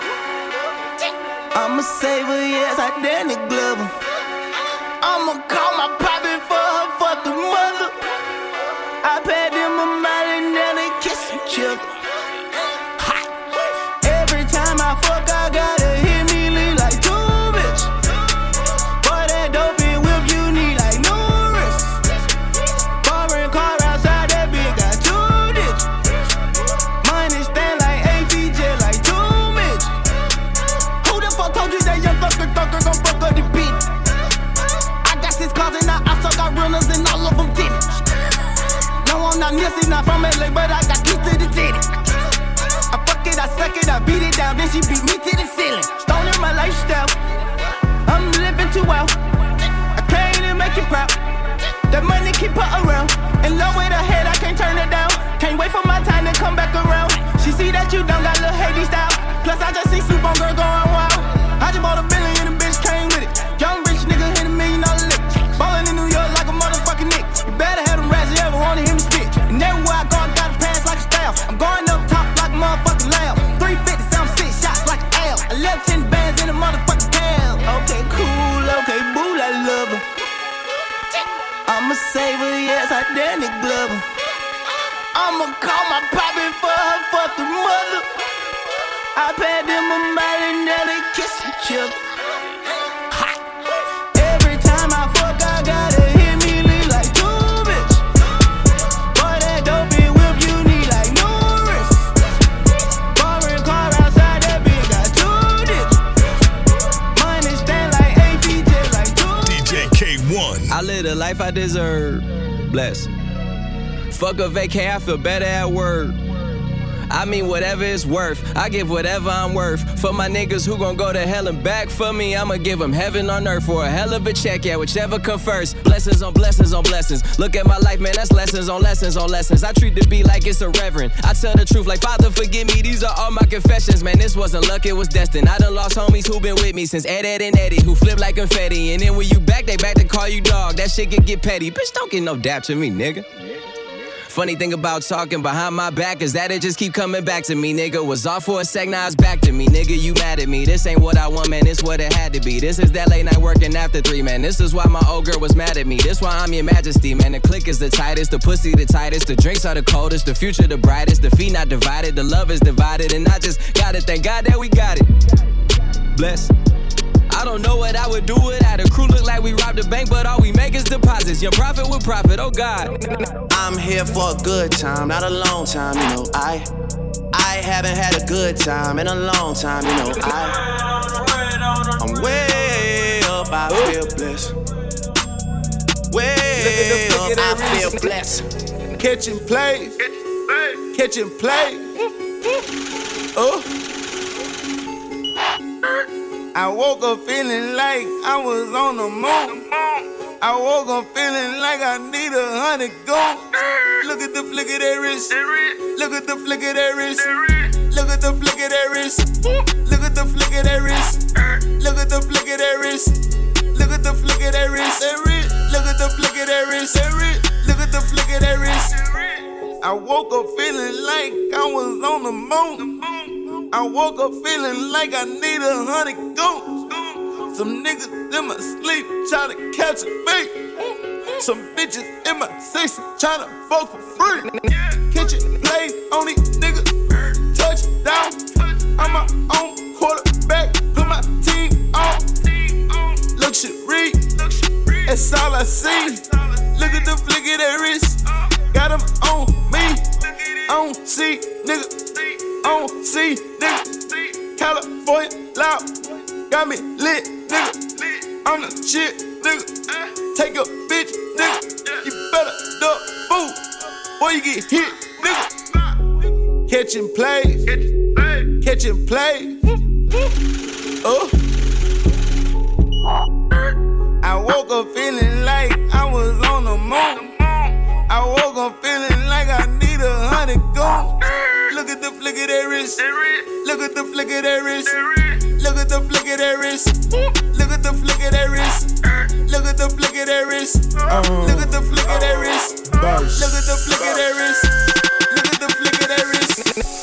I'ma save her, yes, I Danny Glover. I'ma call my poppy for her fucking mother. I paid them a mile and then they kiss each other. Hot. Every time I fuck, I gotta hit me lean like two bitch. Boy, that dope and whip you need like no wrist. then she beat me to the ceiling. Stoning my lifestyle, I'm living too well. I can't even make it proud. That money keep her around. In love with her head, I can't turn it down. Can't wait for my time to come back around. She see that you done got little Haiti style. Plus I just see Soup on girl going wild. I just bought a billion and the bitch came with it. Young rich nigga hit a million dollar lick. Ballin' in New York like a motherfucking Nick. You better have them rats you ever wanna hear me spit. And everywhere I go, I gotta pass like a staff. I'm going up top like a motherfucking lamb. three fifty, seven six shots like an L. I left ten bands in the motherfucking tail. Okay, cool, okay, boo, I love her. I'ma save her, yes, I Danny Glover. I'ma call my poppin' for her fucking mother. I paid them a mile and now they kiss each other. Every time I fuck, I gotta hit me leave like two bitch. Boy, that dopey whip you need like no wrist. Foreign car outside that bitch got two ditch. Money stand like A P J like two. D J K one. I live the life I deserve. Bless. Fuck a vacay, I feel better at work. I mean whatever it's worth, I give whatever I'm worth. For my niggas who gon' go to hell and back for me, I'ma give them heaven on earth for a hell of a check, yeah, whichever come first. Blessings on blessings on blessings. Look at my life, man, that's lessons on lessons on lessons. I treat the beat like it's a reverend. I tell the truth like, Father, forgive me, these are all my confessions. Man, this wasn't luck, it was destined. I done lost homies who been with me since Ed, Ed, and Eddie, who flip like confetti. And then when you back, they back to call you dog. That shit can get petty. Bitch, don't get no dap to me, nigga. Funny thing about talking behind my back is that it just keep coming back to me, nigga. Was off for a sec, now it's back to me, nigga. You mad at me? This ain't what I want, man. It's what it had to be. This is that late night working after three, man. This is why my old girl was mad at me. This why I'm your majesty, man. The click is the tightest, the pussy the tightest, the drinks are the coldest, the future the brightest, the feet not divided, the love is divided, and I just gotta thank God that we got it. Bless. I don't know what I would do without a crew. Look like we robbed a bank, but all we make is deposits. Young profit with profit, oh God. I'm here for a good time, not a long time, you know. I I haven't had a good time in a long time, you know. I I'm way up, I feel blessed. Way up, I feel blessed. Catching plays, catching play. Oh. I woke up feeling like I was on the moon. I woke up feeling like I need a hundred gold. Look at the flick of that wrist. Look at the flick of that wrist. Look at the flick of that wrist. Look at the flick of that wrist. Look at the flick of that wrist. Look at the flick of that wrist. Look at the flick of that wrist. Look at the flick of that wrist. I woke up feeling like I was on the moon. I woke up feeling like I need a hundred goons. Some niggas in my sleep tryna catch a bait. Some bitches in my section tryna fuck for free. Catch it, play on these niggas. Touchdown. I'm my own quarterback. Put my team on. Luxury. That's all I see. Look at the flick of that wrist. Got them on me. On C, nigga. On C, nigga. California loud. Got me lit, nigga. I'm the shit, nigga. Take a bitch, nigga. You better duck food, or you get hit, nigga. Catching plays, catching plays. Oh. I woke up feeling like I was on the moon. I woke up feeling like I need a hundred goons. Look at the flick of that wrist. Look at the flick of that wrist. Look at the flick of that wrist. Look at the flick of that wrist. Look at the flick of that wrist. Look at the flick of that wrist. Look at the flick of that wrist. Look at the flick of that wrist.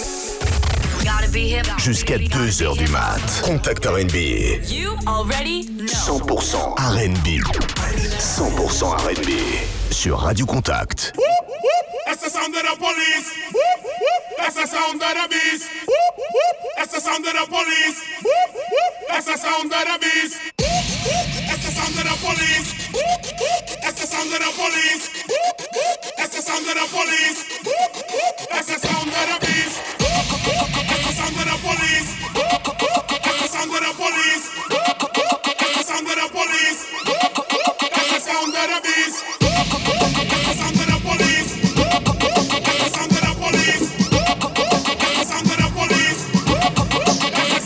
Jusqu'à deux heures du mat. Contact R and B. You already know. cent pour cent R and B. cent pour cent R and B. Sur Radio Contact. That's the sound of the police. That's the sound of the beast. That's the sound of the police. That's the sound of the beast. That's the sound of the police. That's the sound of the police. That's the sound of the police. That's the sound of the beast. That's the sound of the police. That's the sound of the police. That's the sound of the police. That's the sound of the beast. That's the sound of the police. That's the sound of the police. That's the sound of the police. That's the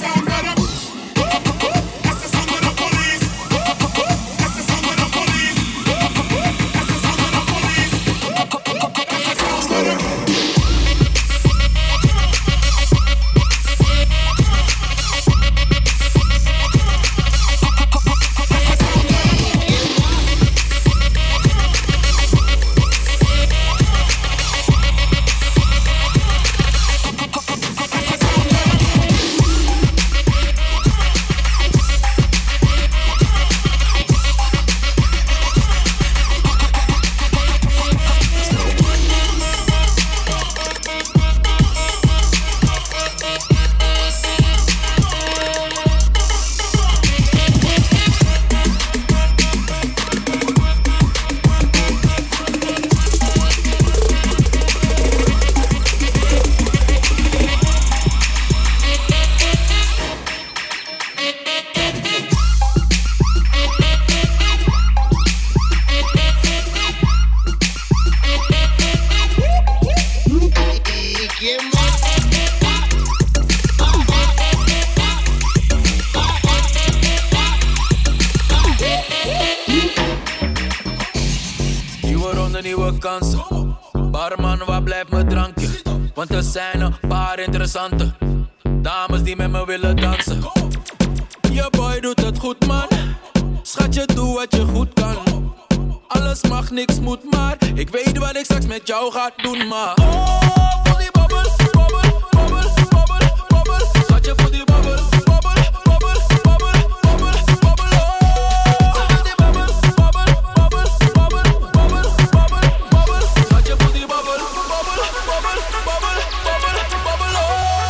vakantie. Barman, waar blijft mijn drankje? Want er zijn een paar interessante dames die met me willen dansen. Je boy doet het goed, man. Schatje, doe wat je goed kan. Alles mag, niks moet, maar ik weet wat ik straks met jou ga doen, maar oh, voel die babbel, babbel, babbel, babbel, babbel. Schatje, voel die babbel, babbel, babbel, babbel, babbel, babbel, oh. Ze wil die babbel, babbel, babbel, babbel, babbel, babbel, babbel. Schatje, voel die babbel, babbel, babbel, babbel, babbel, babbel, oh.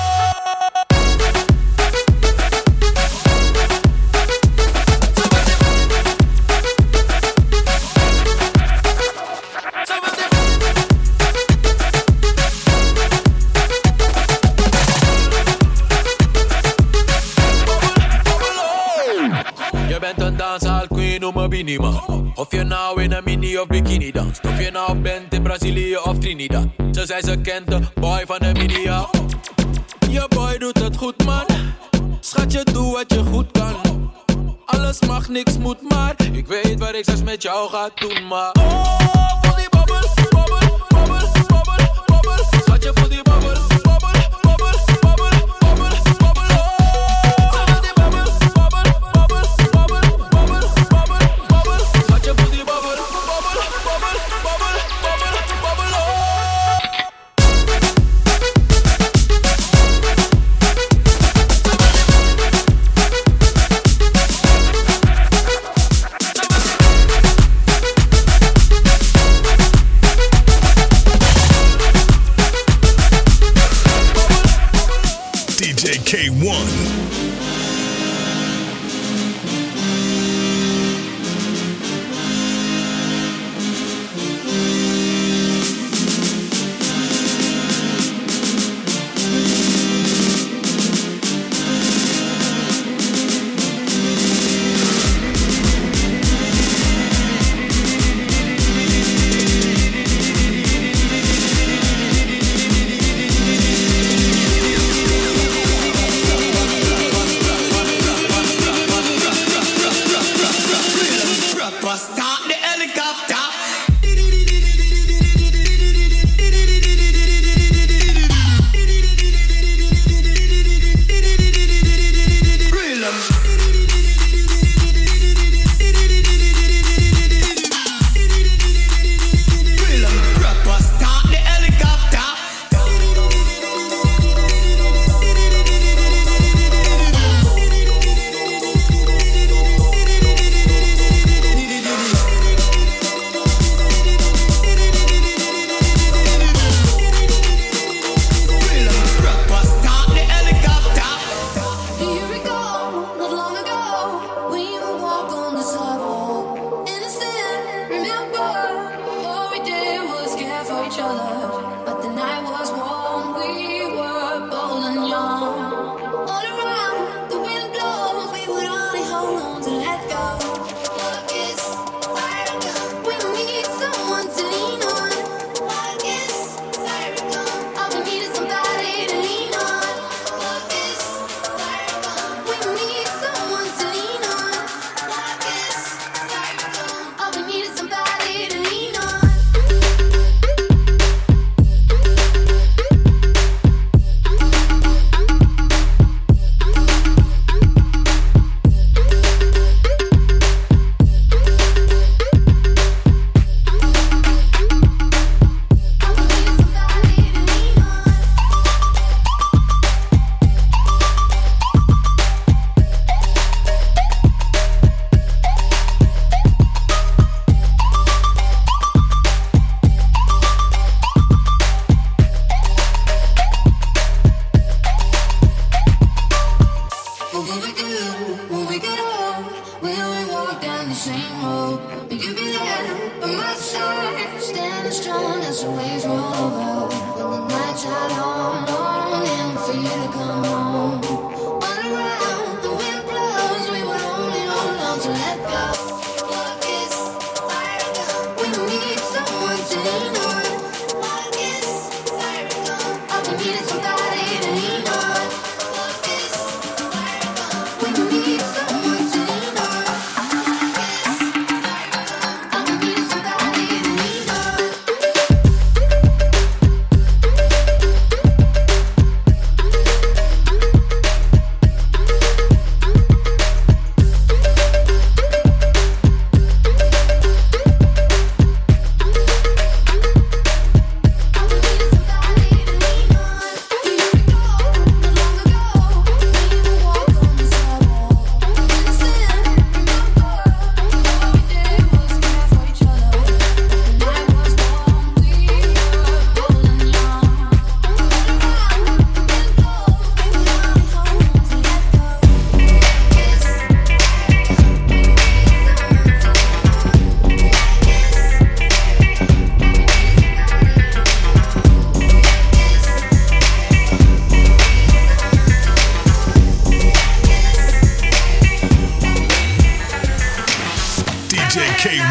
Noem me Binima. Of je nou in een mini of bikini danst, of je nou bent in Brazilië of Trinidad. Ze zei ze kent de boy van de media. Je boy doet het goed, man. Schatje, doe wat je goed kan. Alles mag, niks moet, maar ik weet wat ik straks met jou ga doen, maar oh, voel die babbel, babbel, babbel, babbel, babbel. Schatje, voel die babbel, babbel, babbel, babbel, babbel, babbel, oh. Ze wil die babbel, babbel, babbel, babbel, babbel, babbel, babbel. Schatje, voel die babbel, babbel, babbel, babbel, babbel, babbel, oh. K one.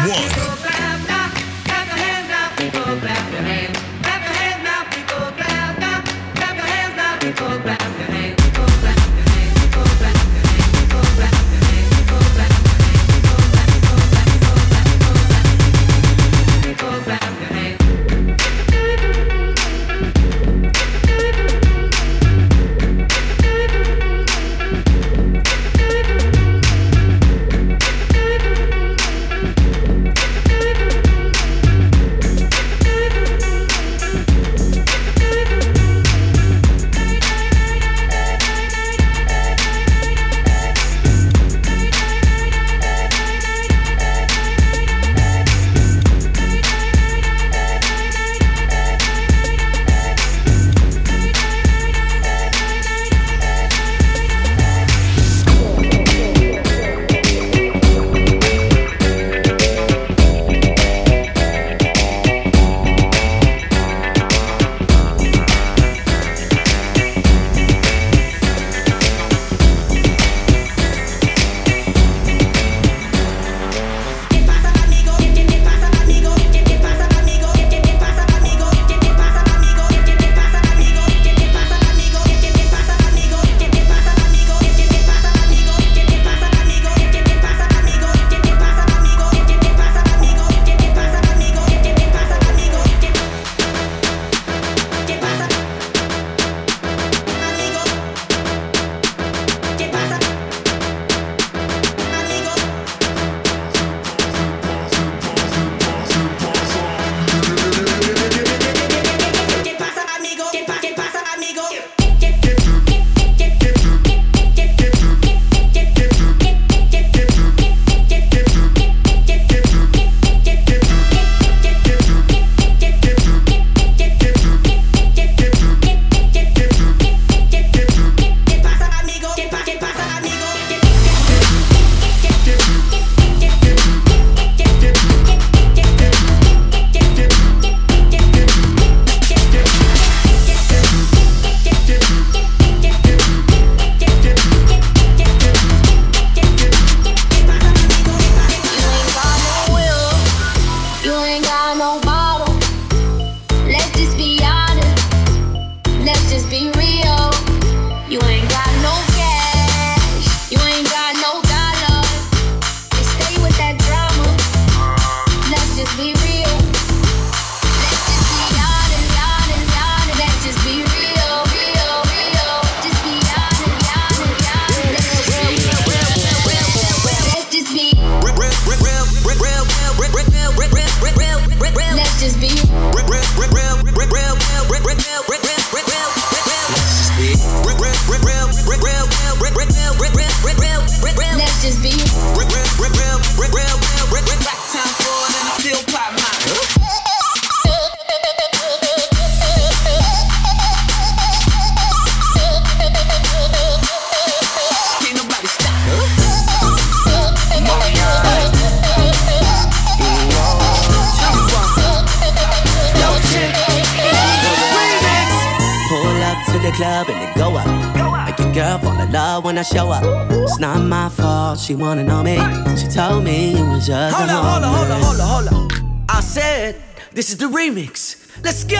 club and then go up. Make your girl fall in love when I show up. It's not my fault, she wanna know me. She told me it was just hold a up, hold up, hold up, hold up, hold up. I said, this is the remix. Let's go!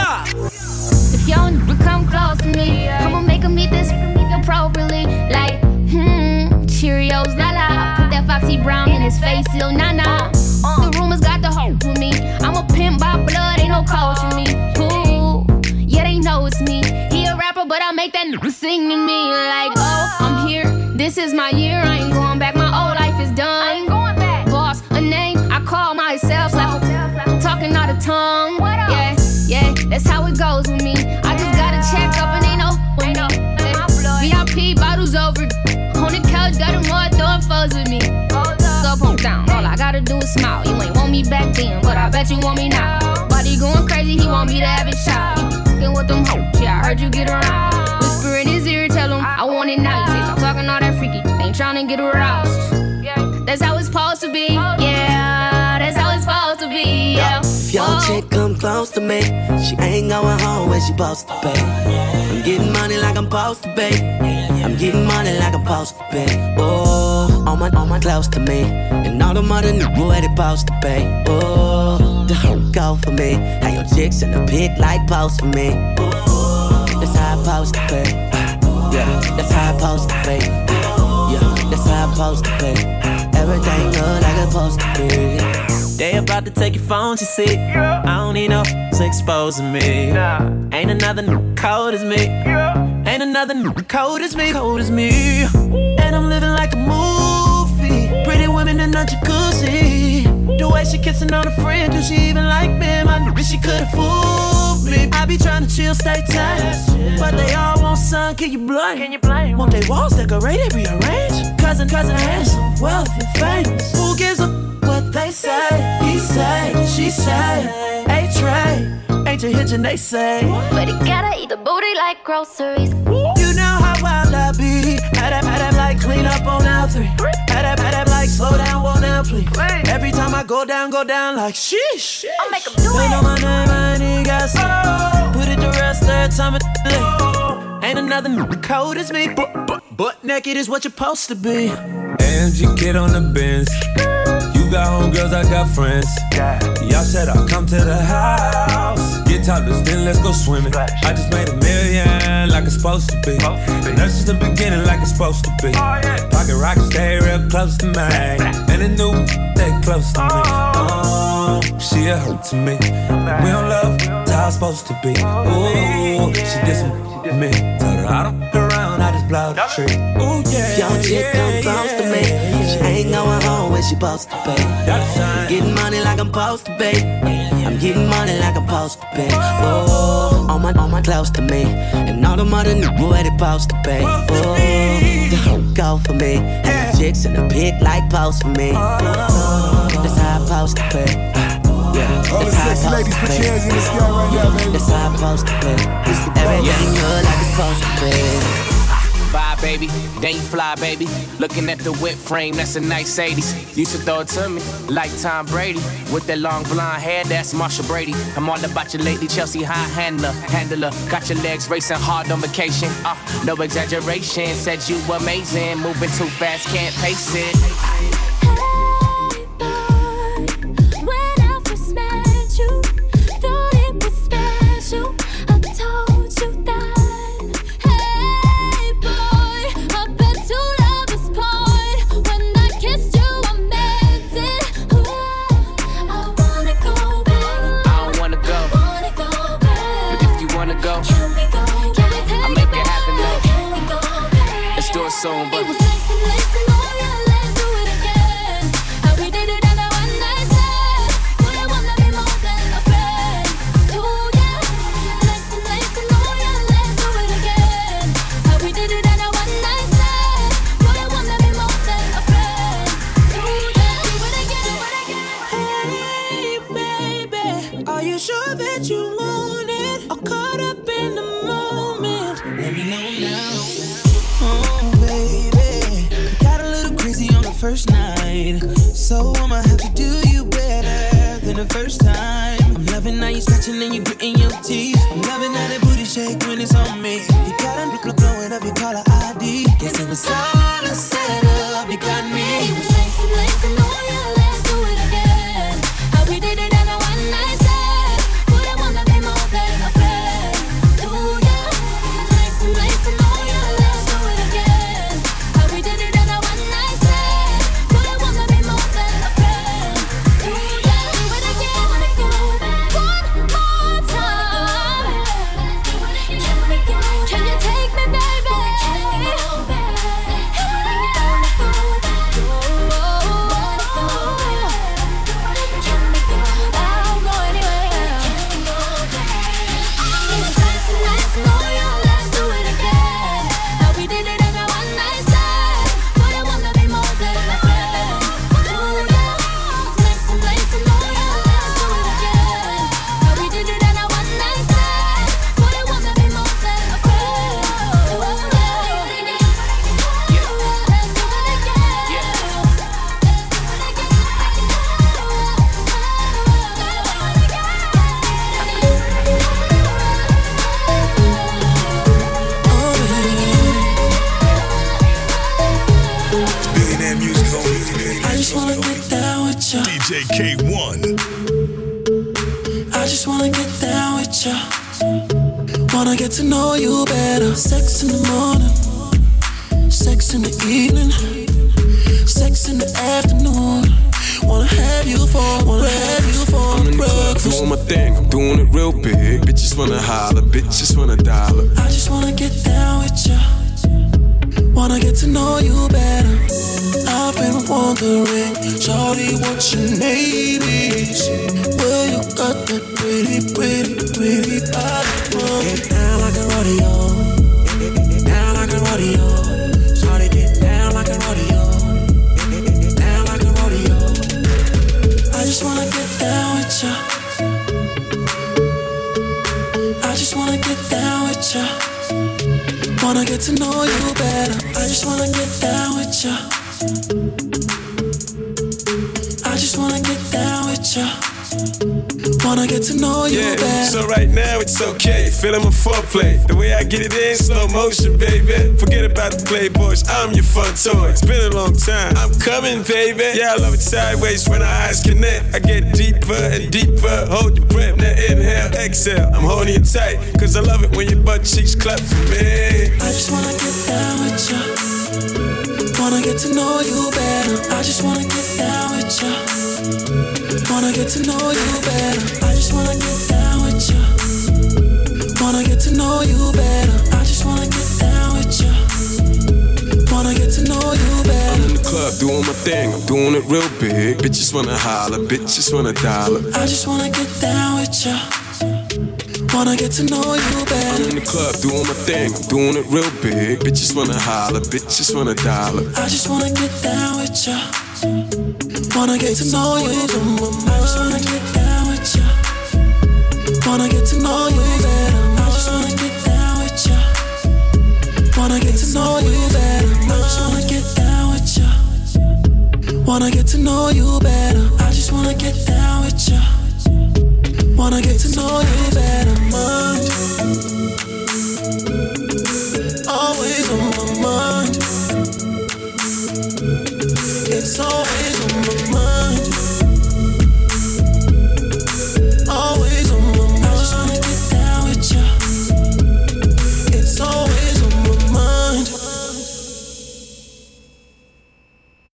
If y'all would come close to me, I'ma make them eat this appropriately. Like, hmm, Cheerios, la la. Put that Foxy Brown in his face, still nah nah. The rumors got the hope with me. I'm a pimp by blood, ain't no coach with me. Ooh, yeah, they know it's me. He a rapper, but I make that n- sing to me. Like, oh, I'm here, this is my year. I ain't going back, my old life is done. I ain't going back. Boss, a name, I call myself. Like, talking out of tongue. Yeah, yeah, that's how it goes with me. I just gotta check up and ain't no with me. V I P bottles over. On the couch, got them all throwing foes with me. Up, on down, all I gotta do is smile. You ain't want me back then, but I bet you want me now. Body going crazy, he want me to have it shot. Fucking with them hoes, yeah, I heard you get around. Whisper in his ear, tell him I want it now. You say stop talking all that freaky, ain't tryna get aroused. That's how it's supposed to be, yeah. That's how it's supposed to be, yeah. If your chick come close to me, she ain't going home where she supposed to be. I'm getting money like I'm supposed to be. I'm getting money like I'm supposed to be. Oh, on all my, all my close to me. And all the mother knew where they supposed to be. Ooh, go for me. How your chicks in the pit like post for me. Ooh, that's how I supposed to be. Yeah, that's how I supposed to be. Yeah, that's how I supposed to be. Everything good like it's supposed to be. They about to take your phone, you see. I don't need no to exposing me. Ain't another new cold as me. Ain't another new cold as me. Cold as me. And I'm living like a movie. Pretty women in a jacuzzi. The way she kissing on a friend, do she even like me? I knew she could've fooled me. I be trying to chill, stay tight, but they all want sun. Can you blame? Can you blame? Want they walls decorated, rearranged? Cousin, cousin, handsome, wealthy, famous. Who gives a what they say? He say, she say, A-Tray, ain't you hitching, they say. But he gotta eat the booty like groceries. You know how wild I be. Had that, had that like clean up on L three. Had that, had that like slow down, won't now please. Every time I go down, go down like sheesh. I'll make him do they it. Know my name, I ain't even got some. Put it to rest every time it's late. Ain't another new cold as me. But, but, butt naked is what you're supposed to be. A M G kid on the Benz. You got homegirls, I got friends. Y'all said I'll come to the house. Get topless, then let's go swimming. I just made a million like it's supposed to be. And that's just the beginning like it's supposed to be. Pocket rockets stay real close to me. And the new stay close to me. Oh, she a hurt to me. We don't love, that's how it's supposed to be. Ooh, she did some to me. Told her I don't look around, I just blow the tree. Ooh, yeah. If your chick come close to me, she ain't going home when she supposed to be. I'm getting money like I'm supposed to be. I'm getting money like I'm supposed to be. Oh, all my, all my close to me. And all the mother knew where they supposed to be. Oh, go for me. And the chicks in the pit like post for me. Oh, that's how I supposed to be. Yeah, that's how I supposed to be. That's how I supposed to be. Everything good like it's supposed to be. Bye, baby, then you fly, baby. Looking at the whip frame, that's a nice eighties. Used to throw it to me like Tom Brady. With that long blonde hair, that's Marsha Brady. I'm all about you lately, Chelsea high handler, handler. Got your legs racing hard on vacation. Uh, no exaggeration, said you amazing. Moving too fast, can't pace it. Soon, but it was nice and nice and oh yeah, let's do it again. How we did it on a one night stand. Boy, I wanna be more than a friend. Oh yeah, nice and nice and oh yeah, let's do it again. How we did it on a one night stand. Boy, I wanna be more than a friend. Oh yeah, do it again, do it again. Hey baby, are you sure that you want it? Or caught up in the moment? Let me know now. First night, so I'ma have to do you better than the first time. I'm loving how you scratching and you gritting your teeth. I'm loving how that booty shake when it's on me. You got a blowing up your caller I D. Guess it was all a setup. You got me. It was nice and nice and oh yeah, let's do it again. How we did it on a one night stand. Would I wanna be more than a friend? Oh yeah, nice and nice and oh yeah, let's do it again. How we did it on a one night stand. J K one. I just wanna get down with ya. Wanna get to know you better. Sex in the morning, sex in the evening, sex in the afternoon. Wanna have you for, wanna have you for I'm in the club doing my thing, I'm doing it real big. Bitches wanna holler, bitches wanna dollar. I just wanna get down with ya. Wanna get to know you better. I've been wondering, shawty, what your name is. Where you got that pretty, pretty, pretty body from? Get down like a rodeo. Get down like a rodeo. Shawty, get down like a rodeo. Get down like a rodeo. I just wanna get down with ya. I just wanna get down with ya. Wanna get to know you better. I just wanna get down with ya. I just wanna get down with ya. Wanna get to know you yeah, better. So right now it's okay, feeling my foreplay. The way I get it in, slow motion, baby. Forget about the playboys, I'm your fun toy. It's been a long time, I'm coming, baby. Yeah, I love it sideways when our eyes connect. I get deeper and deeper, hold your breath, now inhale, exhale. I'm holding you tight, cause I love it when your butt cheeks clap for me. I just wanna get down with ya. Wanna get to know you better. I just wanna get down with ya. Wanna get to know you better. I just wanna get down with ya. Wanna get to know you better. I just wanna get down with ya. Wanna get to know you better. I'm in the club doing my thing, I'm doing it real big. Bitches wanna holler, bitches wanna dollar. I just wanna get down with ya. Wanna get to know you better. I'm in the club doing my thing, I'm doing it real big. Bitches wanna holler, bitches wanna dollar. I just wanna get down with ya. Wanna get to know you better. I just wanna get down with ya. Wanna get to know you better. I just wanna get down with ya. Wanna get to know you better. I just wanna get down with ya. Wanna get to know you better. I just wanna get down with ya. Wanna get to know you better, mind. Always on my mind. It's always on my mind.